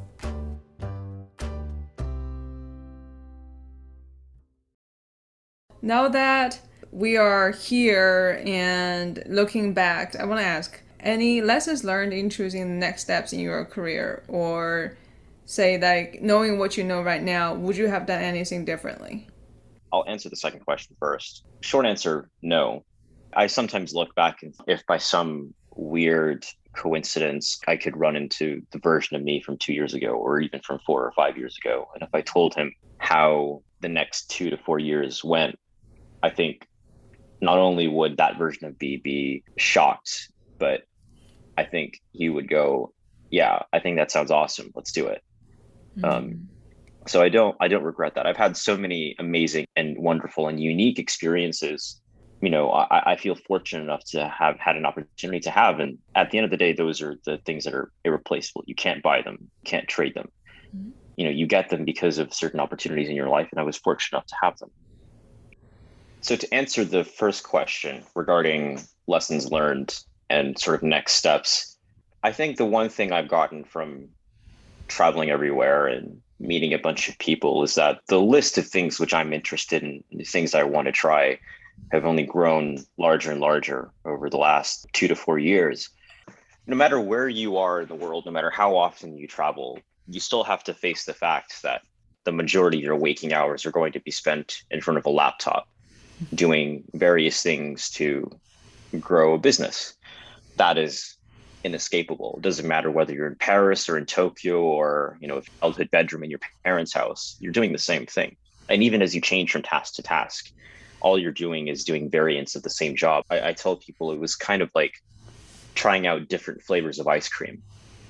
Now that we are here and looking back, I want to ask, any lessons learned in choosing the next steps in your career? Or say, like, knowing what you know right now, would you have done anything differently? I'll answer the second question first. Short answer, no. I sometimes look back and if by some weird coincidence I could run into the version of me from 2 years ago or even from 4 or 5 years ago, and if I told him how the next 2 to 4 years went, I think not only would that version of me be shocked, but I think he would go, yeah, I think that sounds awesome. Let's do it. So I don't regret that. I've had so many amazing and wonderful and unique experiences. You know, I feel fortunate enough to have had an opportunity to have. And at the end of the day, those are the things that are irreplaceable. You can't buy them, can't trade them. You know, you get them because of certain opportunities in your life. And I was fortunate enough to have them. So to answer the first question regarding lessons learned and sort of next steps, I think the one thing I've gotten from traveling everywhere and meeting a bunch of people is that the list of things which I'm interested in, the things I want to try, have only grown larger and larger over the last 2 to 4 years. No matter where you are in the world, no matter how often you travel, you still have to face the fact that the majority of your waking hours are going to be spent in front of a laptop doing various things to grow a business. That is inescapable. It doesn't matter whether you're in Paris or in Tokyo or, you know, a childhood bedroom in your parents' house, you're doing the same thing. And even as you change from task to task, all you're doing is doing variants of the same job. I tell people it was kind of like trying out different flavors of ice cream.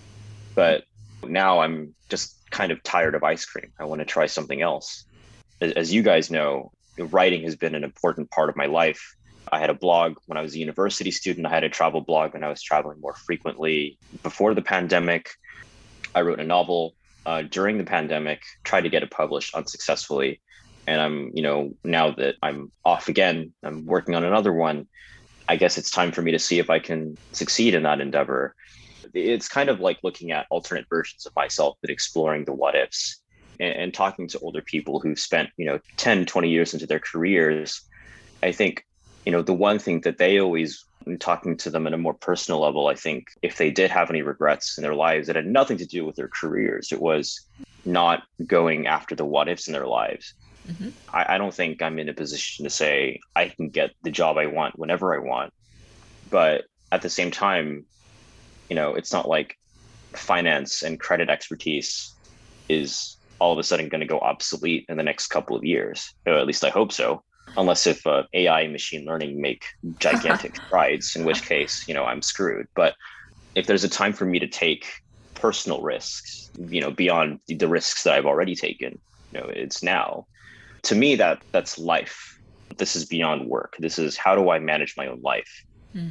But now I'm just kind of tired of ice cream. I want to try something else. As you guys know, writing has been an important part of my life. I had a blog when I was a university student. I had a travel blog when I was traveling more frequently. Before the pandemic, I wrote a novel during the pandemic, tried to get it published unsuccessfully. And I'm, you know, now that I'm off again, I'm working on another one. I guess it's time for me to see if I can succeed in that endeavor. It's kind of like looking at alternate versions of myself, but exploring the what ifs and talking to older people who've spent, you know, 10, 20 years into their careers. I think, you know, the one thing that they always, when talking to them at a more personal level, I think if they did have any regrets in their lives, it had nothing to do with their careers. It was not going after the what ifs in their lives. I don't think I'm in a position to say I can get the job I want whenever I want. But at the same time, you know, it's not like finance and credit expertise is all of a sudden going to go obsolete in the next couple of years. Or at least I hope so. Unless if AI and machine learning make gigantic strides, in which case, you know, I'm screwed. But if there's a time for me to take personal risks, you know, beyond the risks that I've already taken, you know, it's now. To me, that's life. This is beyond work. This is how do I manage my own life?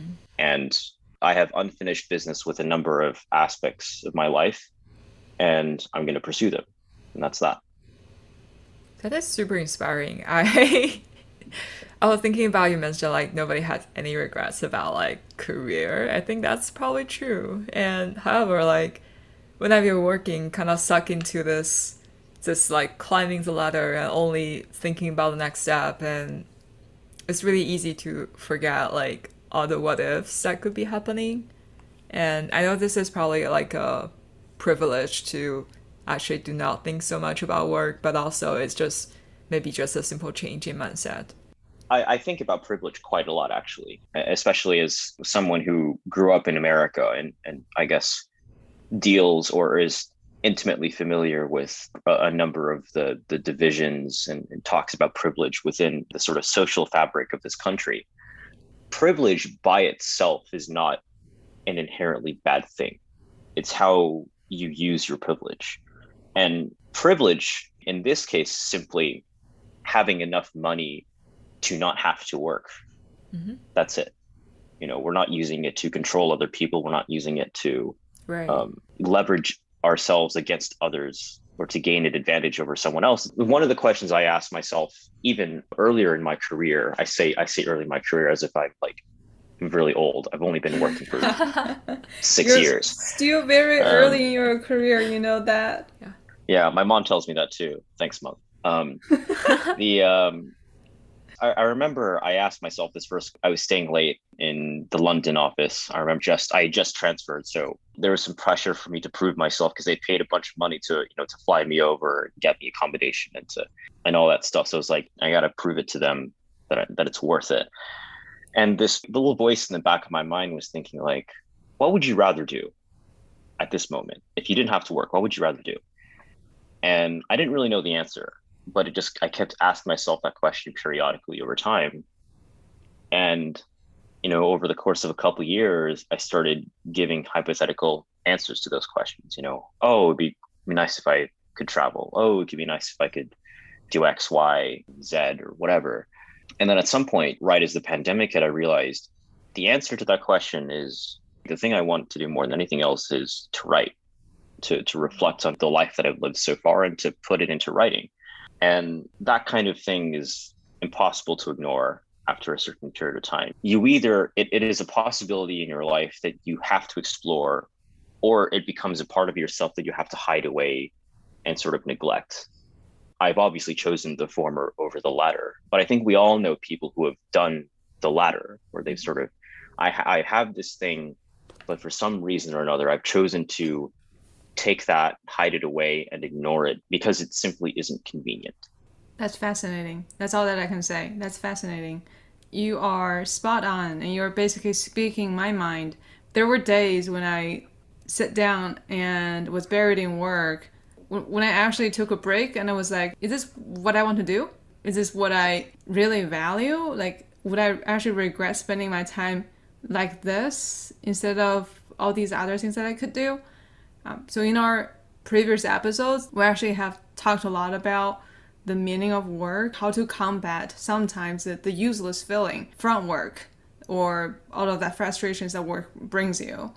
And I have unfinished business with a number of aspects of my life, and I'm going to pursue them. And that's that. That is super inspiring. I was thinking about, you mentioned like nobody has any regrets about like career. I think that's probably true. And however, like whenever you're working, kind of suck into this like climbing the ladder and only thinking about the next step, and it's really easy to forget like all the what ifs that could be happening. And I know this is probably like a privilege to actually do not think so much about work, but also it's just maybe just a simple change in mindset. I think about privilege quite a lot, actually, especially as someone who grew up in America and I guess deals or is intimately familiar with a number of the divisions and talks about privilege within the sort of social fabric of this country. Privilege by itself is not an inherently bad thing. It's how you use your privilege. And privilege in this case, simply having enough money to not have to work. Mm-hmm. That's it. We're not using it to control other people. We're not using it to leverage ourselves against others or to gain an advantage over someone else. One of the questions I asked myself, even earlier in my career, I say early in my career as if I'm really old. I've only been working for 6 years. Still very early in your career, you know that. Yeah, my mom tells me that too. Thanks, Mom. I remember I asked myself this first. I was staying late in the London office. I remember I had just transferred, so there was some pressure for me to prove myself because they paid a bunch of money to fly me over, get me accommodation, and all that stuff. So it was like I got to prove it to them that it's worth it. And this little voice in the back of my mind was thinking what would you rather do at this moment if you didn't have to work? What would you rather do? And I didn't really know the answer. But I kept asking myself that question periodically over time. And, over the course of a couple of years, I started giving hypothetical answers to those questions. Oh, it'd be nice if I could travel. Oh, it could be nice if I could do X, Y, Z, or whatever. And then at some point, right as the pandemic hit, I realized the answer to that question is the thing I want to do more than anything else is to write, to reflect on the life that I've lived so far and to put it into writing. And that kind of thing is impossible to ignore after a certain period of time. It is a possibility in your life that you have to explore, or it becomes a part of yourself that you have to hide away and sort of neglect. I've obviously chosen the former over the latter, but I think we all know people who have done the latter, where they've sort of, I have this thing, but for some reason or another, I've chosen to take that, hide it away, and ignore it because it simply isn't convenient. That's fascinating. That's all that I can say. That's fascinating. You are spot on, and you're basically speaking my mind. There were days when I sat down and was buried in work, when I actually took a break and I was like, is this what I want to do? Is this what I really value? Would I actually regret spending my time like this instead of all these other things that I could do? So in our previous episodes, we actually have talked a lot about the meaning of work, how to combat sometimes the useless feeling from work or all of that frustrations that work brings you.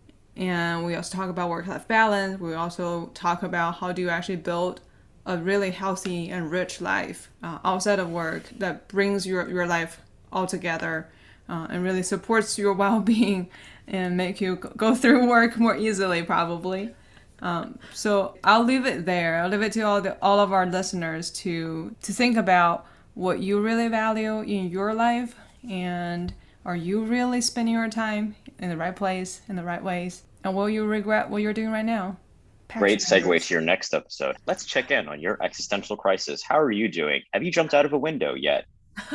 And we also talk about work-life balance. We also talk about how do you actually build a really healthy and rich life outside of work that brings your life all together and really supports your well-being and make you go through work more easily, probably. So I'll leave it there. I'll leave it to all of our listeners to think about what you really value in your life, and are you really spending your time in the right place, in the right ways, and will you regret what you're doing right now? Great segue to your next episode. Let's check in on your existential crisis. How are you doing? Have you jumped out of a window yet?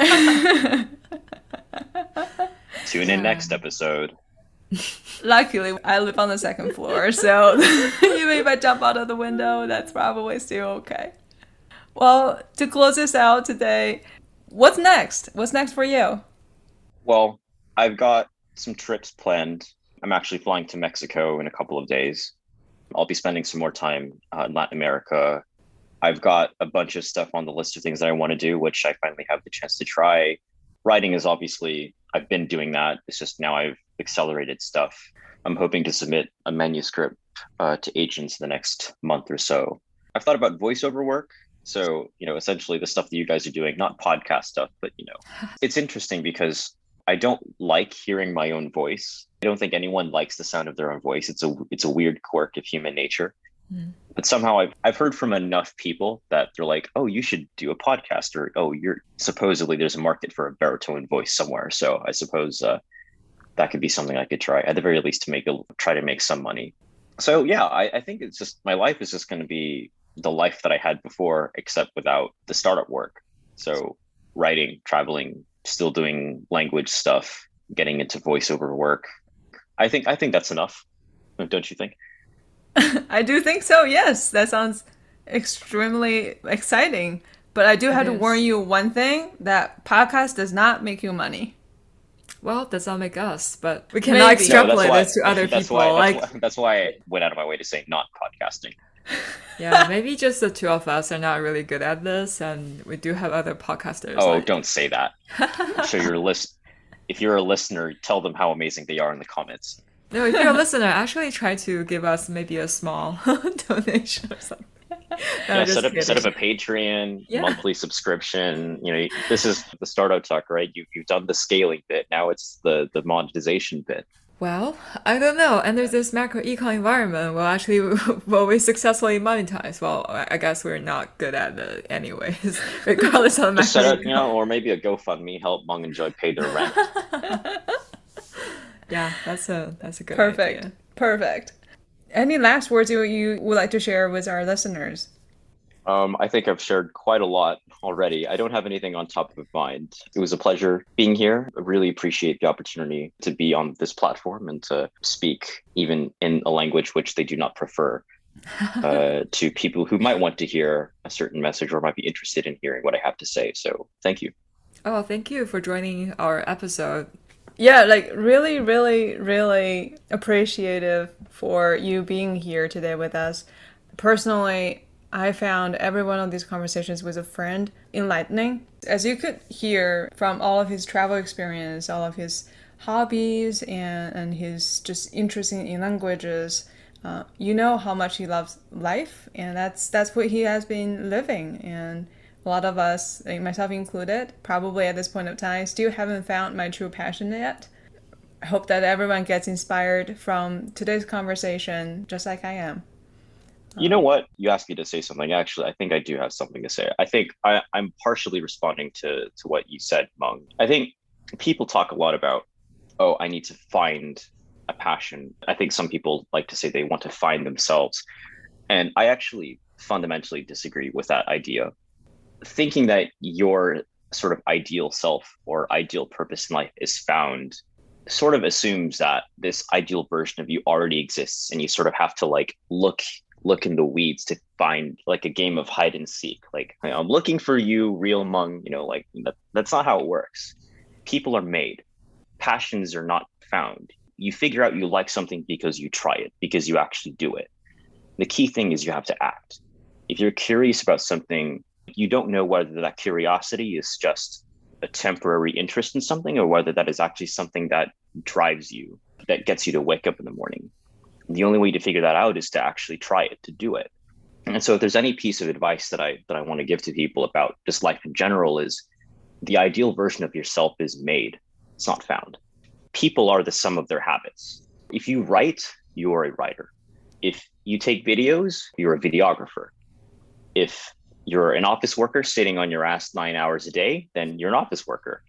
Tune in next episode. Luckily, I live on the second floor, so even if I jump out of the window, that's probably still okay. Well, to close this out today, what's next? What's next for you? Well, I've got some trips planned. I'm actually flying to Mexico in a couple of days. I'll be spending some more time in Latin America. I've got a bunch of stuff on the list of things that I want to do, which I finally have the chance to try. Writing is obviously, I've been doing that. It's just now I've accelerated stuff. I'm hoping to submit a manuscript to agents in the next month or so. I've thought about voiceover work. So, essentially the stuff that you guys are doing, not podcast stuff, but, it's interesting because I don't like hearing my own voice. I don't think anyone likes the sound of their own voice. It's a weird quirk of human nature. Mm. But somehow I've heard from enough people that they're like, oh, you should do a podcast, or, oh, supposedly there's a market for a baritone voice somewhere. So I suppose that could be something I could try, at the very least, to try to make some money. So yeah, I think it's just, my life is just going to be the life that I had before, except without the startup work. So writing, traveling, still doing language stuff, getting into voiceover work. I think that's enough. Don't you think? I do think so, yes. That sounds extremely exciting. But I do have to warn you one thing, that podcast does not make you money. Well, does not make us, but we cannot extrapolate this to other people. That's why I went out of my way to say not podcasting. Yeah, maybe just the two of us are not really good at this, and we do have other podcasters. Oh, don't say that. I'm sure if you're a listener, tell them how amazing they are in the comments. No, if you're a listener, actually try to give us maybe a small donation or something. No, set up a Patreon monthly subscription. This is the startup talk, right? You've done the scaling bit. Now it's the monetization bit. Well, I don't know. And there's this macro econ environment. Will we successfully monetize? Well, I guess we're not good at it anyways, regardless of the macro. Just set up, or maybe a GoFundMe, help Meng and Joy pay their rent. Yeah, that's a good idea. Perfect. Any last words you would like to share with our listeners? I think I've shared quite a lot already. I don't have anything on top of mind. It was a pleasure being here. I really appreciate the opportunity to be on this platform and to speak even in a language which they do not prefer to people who might want to hear a certain message or might be interested in hearing what I have to say. So thank you. Oh, thank you for joining our episode. Yeah, really, really, really appreciative for you being here today with us. Personally, I found every one of these conversations with a friend enlightening. As you could hear from all of his travel experience, all of his hobbies, and his just interest in languages, you know how much he loves life, and that's what he has been living. And a lot of us, myself included, probably at this point of time, still haven't found my true passion yet. I hope that everyone gets inspired from today's conversation, just like I am. You know what? You asked me to say something. Actually, I think I do have something to say. I think I'm partially responding to what you said, Meng. I think people talk a lot about, I need to find a passion. I think some people like to say they want to find themselves. And I actually fundamentally disagree with that idea. Thinking that your sort of ideal self or ideal purpose in life is found sort of assumes that this ideal version of you already exists, and you sort of have to look in the weeds to find like a game of hide and seek. Like, I'm looking for you, real Meng, that's not how it works. People are made. Passions are not found. You figure out you like something because you try it, because you actually do it. The key thing is you have to act. If you're curious about something, you don't know whether that curiosity is just a temporary interest in something or whether that is actually something that drives you, that gets you to wake up in the morning. The only way to figure that out is to actually try it, to do it. And so if there's any piece of advice that I want to give to people about just life in general, is the ideal version of yourself is made. It's not found. People are the sum of their habits. If you write, you're a writer. If you take videos, you're a videographer. If you're an office worker sitting on your ass 9 hours a day, then you're an office worker.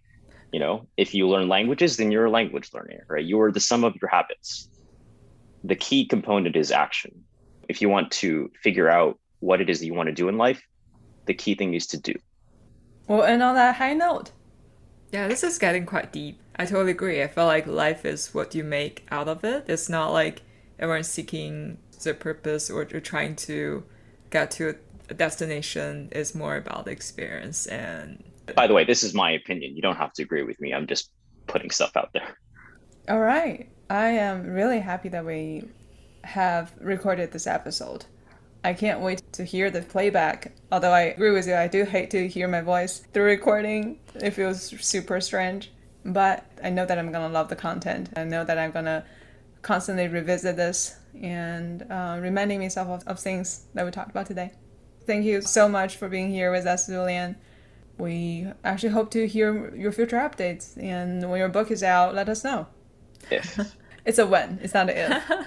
If you learn languages, then you're a language learner, right? You're the sum of your habits. The key component is action. If you want to figure out what it is that you want to do in life, the key thing is to do. Well, and on that high note. Yeah, this is getting quite deep. I totally agree. I feel like life is what you make out of it. It's not like everyone's seeking the purpose or trying to get to a destination. It's more about the experience. And by the way, this is my opinion. You don't have to agree with me. I'm just putting stuff out there. All right. I am really happy that we have recorded this episode. I can't wait to hear the playback. Although I agree with you, I do hate to hear my voice through recording. It feels super strange. But I know that I'm going to love the content. I know that I'm going to constantly revisit this and reminding myself of things that we talked about today. Thank you so much for being here with us, Julian. We actually hope to hear your future updates. And when your book is out, let us know. If. It's a when, it's not an if.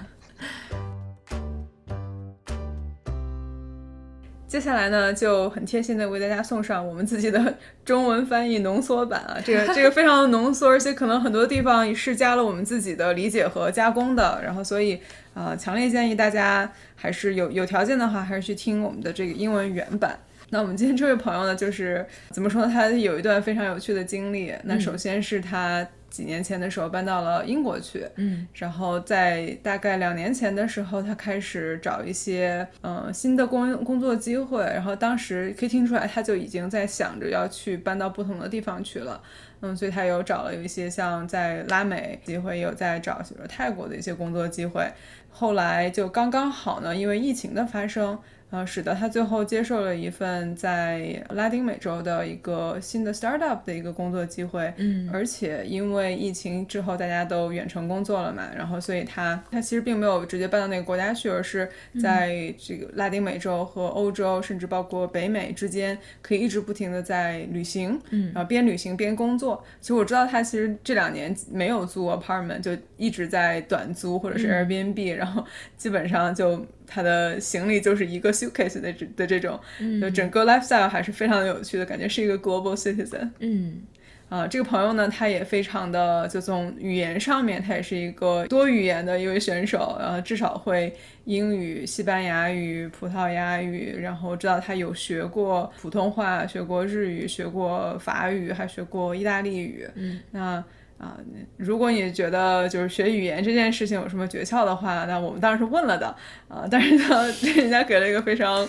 接下来呢，就很贴心的为大家送上我们自己的中文翻译浓缩版啊，这个非常的浓缩，而且可能很多地方也是加了我们自己的理解和加工的，然后所以强烈建议大家还是有条件的话，还是去听我们的这个英文原版。那我们今天这位朋友呢，就是怎么说呢，他有一段非常有趣的经历。那首先是他几年前的时候搬到了英国去，然后在大概2年前的时候，他开始找一些新的工作机会，然后当时可以听出来他就已经在想着要去搬到不同的地方去了。所以他有一些像在拉美机会，也有在找泰国的一些工作机会。后来就刚刚好呢，因为疫情的发生，使得他最后接受了一份在拉丁美洲的一个新的 startup 的一个工作机会。而且因为疫情之后大家都远程工作了嘛，然后所以他其实并没有直接搬到那个国家去，而是在这个拉丁美洲和欧洲甚至包括北美之间可以一直不停的在旅行，然后边旅行边工作。其实我知道他其实这2年没有租 apartment， 就一直在短租或者是 Airbnb，然后基本上就他的行李就是一个 suitcase 的这种，就整个 lifestyle 还是非常有趣的，感觉是一个 global citizen。这个朋友呢，他也非常的，就从语言上面，他也是一个多语言的一位选手，至少会英语、西班牙语、葡萄牙语，然后知道他有学过普通话，学过日语，学过法语，还学过意大利语。如果你觉得就是学语言这件事情有什么诀窍的话，那我们当然是问了的，但是呢，人家给了一个非常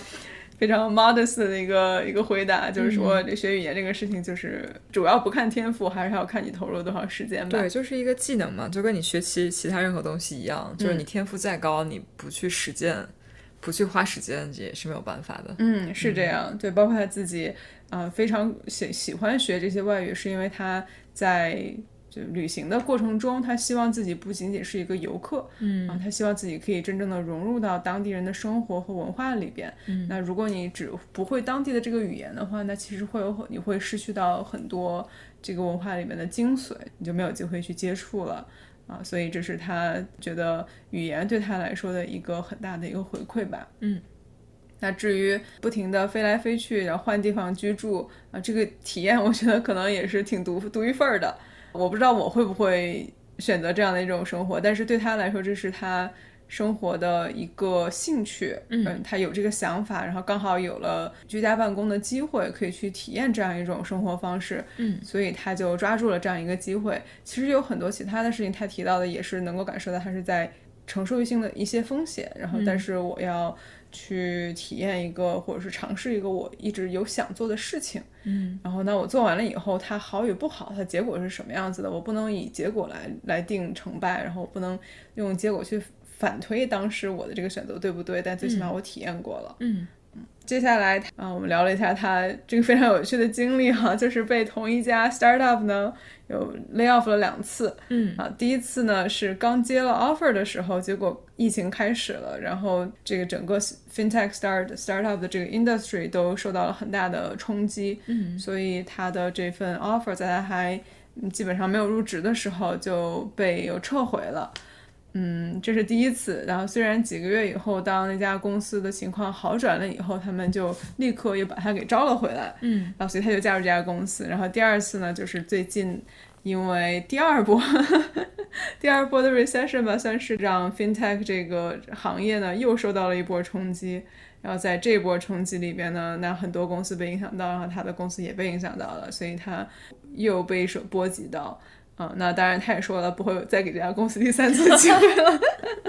modest 的一个回答，就是说这学语言这个事情就是主要不看天赋，还是要看你投入多少时间吧。 对，就是一个技能嘛，就跟你学其他任何东西一样，就是你天赋再高，你不去实践，不去花时间也是没有办法的。 是这样。对，包括他自己非常喜欢学这些外语，是因为他在就旅行的过程中，他希望自己不仅仅是一个游客，他希望自己可以真正的融入到当地人的生活和文化里边。那如果你只不会当地的这个语言的话，那其实你会失去到很多这个文化里面的精髓，你就没有机会去接触了。所以这是他觉得语言对他来说的一个很大的一个回馈吧。那至于不停的飞来飞去，然后换地方居住这个体验我觉得可能也是挺独一份的。我不知道我会不会选择这样的一种生活，但是对他来说这是他生活的一个兴趣。他有这个想法，然后刚好有了居家办公的机会，可以去体验这样一种生活方式。所以他就抓住了这样一个机会。其实有很多其他的事情他提到的也是能够感受到他是在承受性的一些风险，然后但是我要去体验一个或者是尝试一个我一直有想做的事情。然后呢我做完了以后它好与不好，它结果是什么样子的，我不能以结果来定成败，然后我不能用结果去反推当时我的这个选择对不对，但最起码我体验过了。接下来我们聊了一下他这个非常有趣的经历就是被同一家 startup 呢有 lay off 了2次。第一次呢是刚接了 offer 的时候，结果疫情开始了，然后这个整个 fintech startup 的这个 industry 都受到了很大的冲击。所以他的这份 offer 在他还基本上没有入职的时候就被又撤回了。这是第一次。然后虽然几个月以后当那家公司的情况好转了以后，他们就立刻又把他给招了回来。然后所以他就加入这家公司。然后第二次呢就是最近因为第二波的 recession 吧，算是让 fintech 这个行业呢又受到了一波冲击。然后在这波冲击里边呢，那很多公司被影响到，然后他的公司也被影响到了，所以他又被波及到。那当然他也说了不会再给这家公司第3次机会了。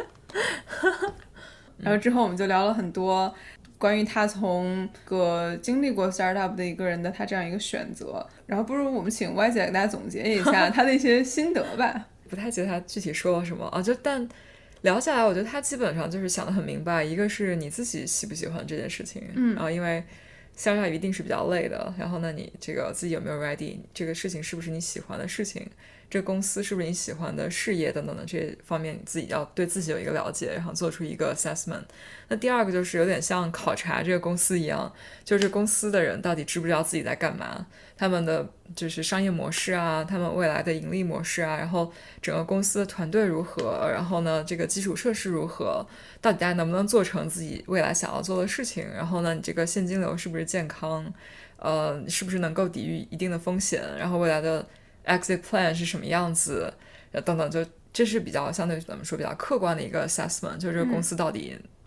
然后之后我们就聊了很多关于他从经历过 startup 的一个人的他这样一个选择。然后不如我们请 Y 姐给大家总结一下他的一些心得吧。 不太记得他具体说了什么但聊下来我觉得他基本上就是想得很明白，一个是你自己喜不喜欢这件事情，然后因为startup一定是比较累的，然后呢你这个自己有没有 ready， 这个事情是不是你喜欢的事情，这个公司是不是你喜欢的事业等等的这些方面，你自己要对自己有一个了解，然后做出一个 assessment。 那第二个就是有点像考察这个公司一样，就是公司的人到底知不知道自己在干嘛，他们的就是商业模式啊，他们未来的盈利模式啊，然后整个公司的团队如何，然后呢这个基础设施如何，到底大家能不能做成自己未来想要做的事情，然后呢你这个现金流是不是健康，是不是能够抵御一定的风险，然后未来的 exit plan 是什么样子等等，就这是比较相对咱们说比较客观的一个 assessment， 就是这个公司到底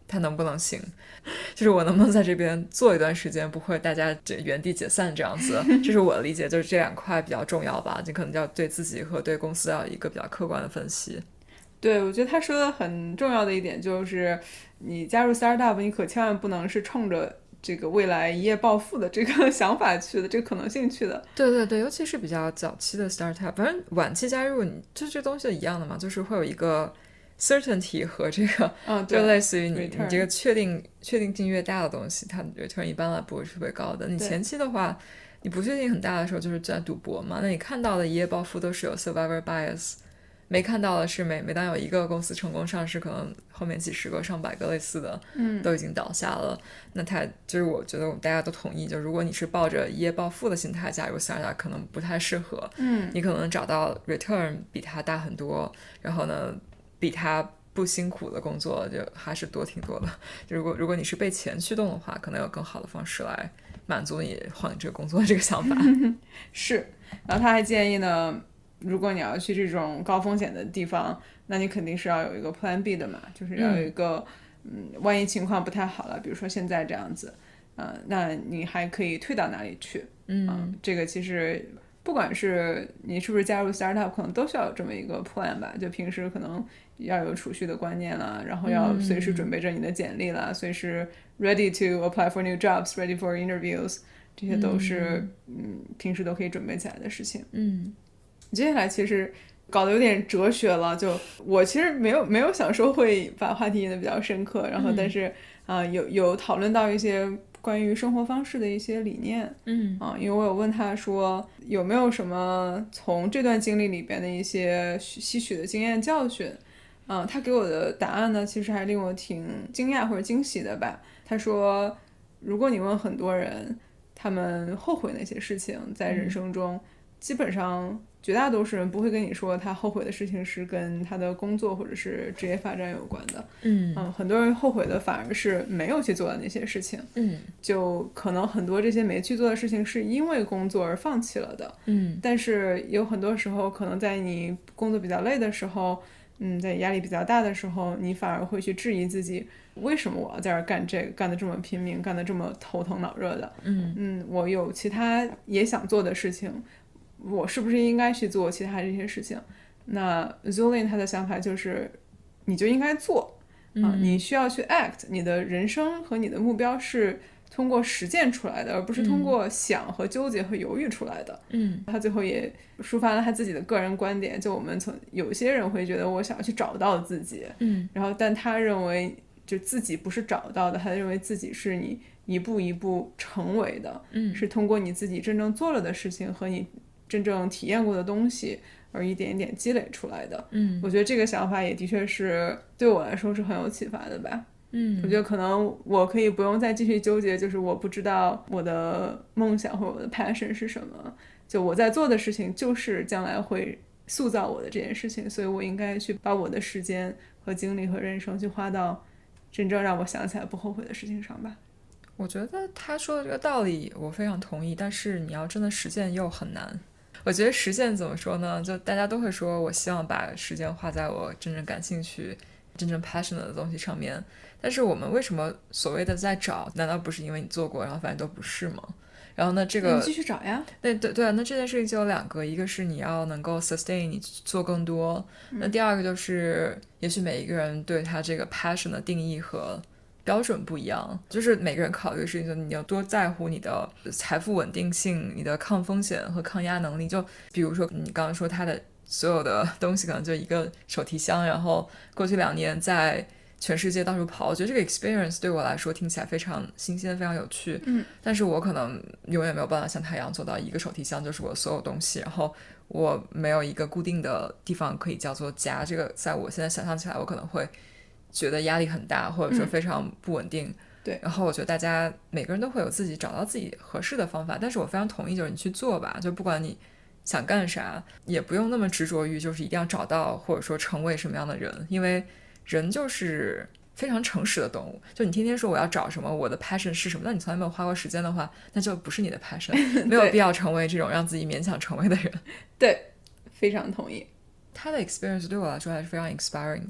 它能不能行，就是我能不能在这边做一段时间，不会大家原地解散这样子。这是我的理解，就是这两块比较重要吧，你可能要对自己和对公司要有一个比较客观的分析。 对，我觉得他说的很重要的一点就是，你加入 startup， 你可千万不能是冲着这个未来一夜暴富的这个想法去的，这个可能性去的。 对对对，尤其是比较早期的 startup， 反正晚期加入你就这东西一样的嘛，就是会有一个 certainty 和这个，就类似于你这个确定性越大的东西，它的 return 一般来不会是特别高的。你前期的话，你不确定很大的时候就是在赌博嘛，那你看到的一夜暴富都是有 survivor bias。没看到的是每当有一个公司成功上市，可能后面几十个上百个类似的都已经倒下了。那它就是我觉得我们大家都同意，就如果你是抱着一夜暴富的心态加入 startup 可能不太适合。你可能找到 return 比它大很多，然后呢比它不辛苦的工作就还是多挺多的。就如果你是被钱驱动的话，可能有更好的方式来满足你换这个工作的这个想法。 是，然后他还建议呢，如果你要去这种高风险的地方，那你肯定是要有一个 plan B 的嘛，就是要有一个万一情况不太好了，比如说现在这样子，那你还可以退到哪里去？这个其实不管是你是不是加入 startup， 可能都需要有这么一个 plan 吧，就平时可能要有储蓄的观念啦，然后要随时准备着你的简历啦，随时 ready to apply for new jobs, ready for interviews， 这些都是平时都可以准备起来的事情。接下来其实搞得有点哲学了，就我其实没有想说会把话题引得比较深刻，然后但是有讨论到一些关于生活方式的一些理念。因为我有问他说有没有什么从这段经历里边的一些吸取的经验教训。他给我的答案呢其实还令我挺惊讶或者惊喜的吧。他说如果你问很多人他们后悔哪些事情在人生中，基本上绝大多数人不会跟你说他后悔的事情是跟他的工作或者是职业发展有关的。很多人后悔的反而是没有去做的那些事情。就可能很多这些没去做的事情是因为工作而放弃了的。但是有很多时候可能在你工作比较累的时候，在压力比较大的时候，你反而会去质疑自己，为什么我要在这儿干这个，干得这么拼命，干得这么头疼脑热的。我有其他也想做的事情，我是不是应该去做其他这些事情？那 Zulin 他的想法就是你就应该做。你需要去 act， 你的人生和你的目标是通过实践出来的，而不是通过想和纠结和犹豫出来的。他最后也抒发了他自己的个人观点，就我们有些人会觉得我想要去找到自己，然后但他认为就自己不是找到的，他认为自己是你一步一步成为的，是通过你自己真正做了的事情和你真正体验过的东西而一点一点积累出来的。我觉得这个想法也的确是对我来说是很有启发的吧。我觉得可能我可以不用再继续纠结，就是我不知道我的梦想或者我的 passion 是什么，就我在做的事情就是将来会塑造我的这件事情，所以我应该去把我的时间和精力和人生去花到真正让我想起来不后悔的事情上吧。 我觉得他说的这个道理我非常同意，但是你要真的实践又很难。我觉得实践怎么说呢，就大家都会说我希望把时间花在我真正感兴趣真正 passionate 的东西上面，但是我们为什么所谓的在找，难道不是因为你做过然后发现都不是吗？然后呢这个你继续找呀。 对，那这件事情就有两个，一个是你要能够 sustain 你做更多，那第二个就是也许每一个人对他这个 passion 的定义和标准不一样，就是每个人考虑的事情，就你要多在乎你的财富稳定性，你的抗风险和抗压能力。就比如说你刚刚说他的所有的东西可能就一个手提箱，然后过去2年在全世界到处跑，我觉得这个 experience 对我来说听起来非常新鲜非常有趣。但是我可能永远没有办法像他一样做到一个手提箱就是我所有东西，然后我没有一个固定的地方可以叫做家，这个在我现在想象起来我可能会觉得压力很大，或者说非常不稳定。 对， 然后我觉得大家每个人都会有自己找到自己合适的方法，但是我非常同意就是你去做吧，就不管你想干啥也不用那么执着于就是一定要找到或者说成为什么样的人，因为人就是非常诚实的动物，就你天天说我要找什么我的 passion 是什么，但你从来没有花过时间的话，那就不是你的 passion 没有必要成为这种让自己勉强成为的人。 对，非常同意。 他的 experience 对我来说还是非常 inspiring 的，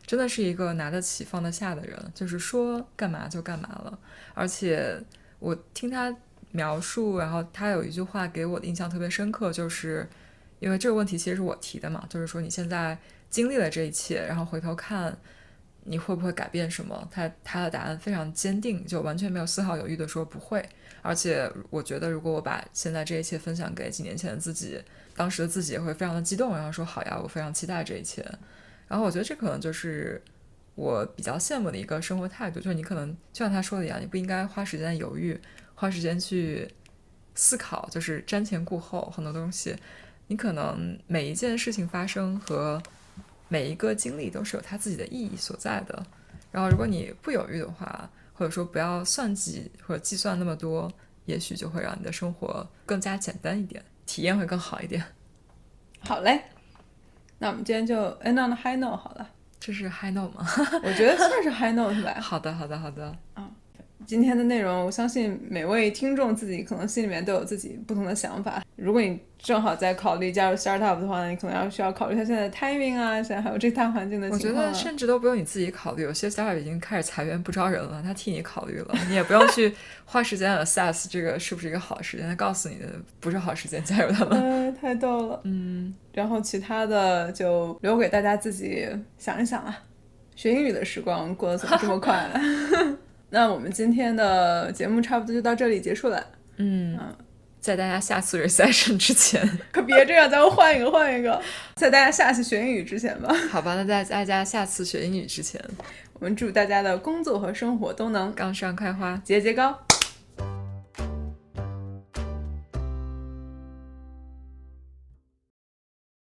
真的是一个拿得起放得下的人，就是说干嘛就干嘛了。而且我听他描述，然后他有一句话给我的印象特别深刻，就是因为这个问题其实是我提的嘛，就是说你现在经历了这一切，然后回头看你会不会改变什么，他的答案非常坚定，就完全没有丝毫犹豫的说不会。而且我觉得如果我把现在这一切分享给几年前的自己，当时的自己也会非常的激动，然后说好呀，我非常期待这一切。然后我觉得这可能就是我比较羡慕的一个生活态度，就是你可能就像他说的一样，你不应该花时间犹豫，花时间去思考，就是瞻前顾后很多东西。你可能每一件事情发生和每一个经历都是有它自己的意义所在的。然后如果你不犹豫的话，或者说不要算计或者计算那么多，也许就会让你的生活更加简单一点，体验会更好一点。 好嘞，那我们今天就 end on a high note 好了。 这是 high note 吗？ 我觉得算是 high note 吧。 好的好的好的。 今天的内容我相信每位听众自己可能心里面都有自己不同的想法。如果你正好在考虑加入 startup 的话，你可能需要考虑一下现在的 timing 啊，现在还有这大环境的情况。 我觉得甚至都不用你自己考虑，有些 startup 已经开始裁员不招人了，他替你考虑了，你也不用去花时间 assess 这个是不是一个好时间，他告诉你的不是好时间，加入他们。 太逗了。然后其他的就留给大家自己想一想啊。学英语的时光过得怎么这么快那我们今天的节目差不多就到这里结束了。 在大家下次 recession 之前， 可别这样，咱们换一个，在大家下次学英语之前吧。 好吧，那在大家下次学英语之前， 我们祝大家的工作和生活都能杠上开花， 节节高。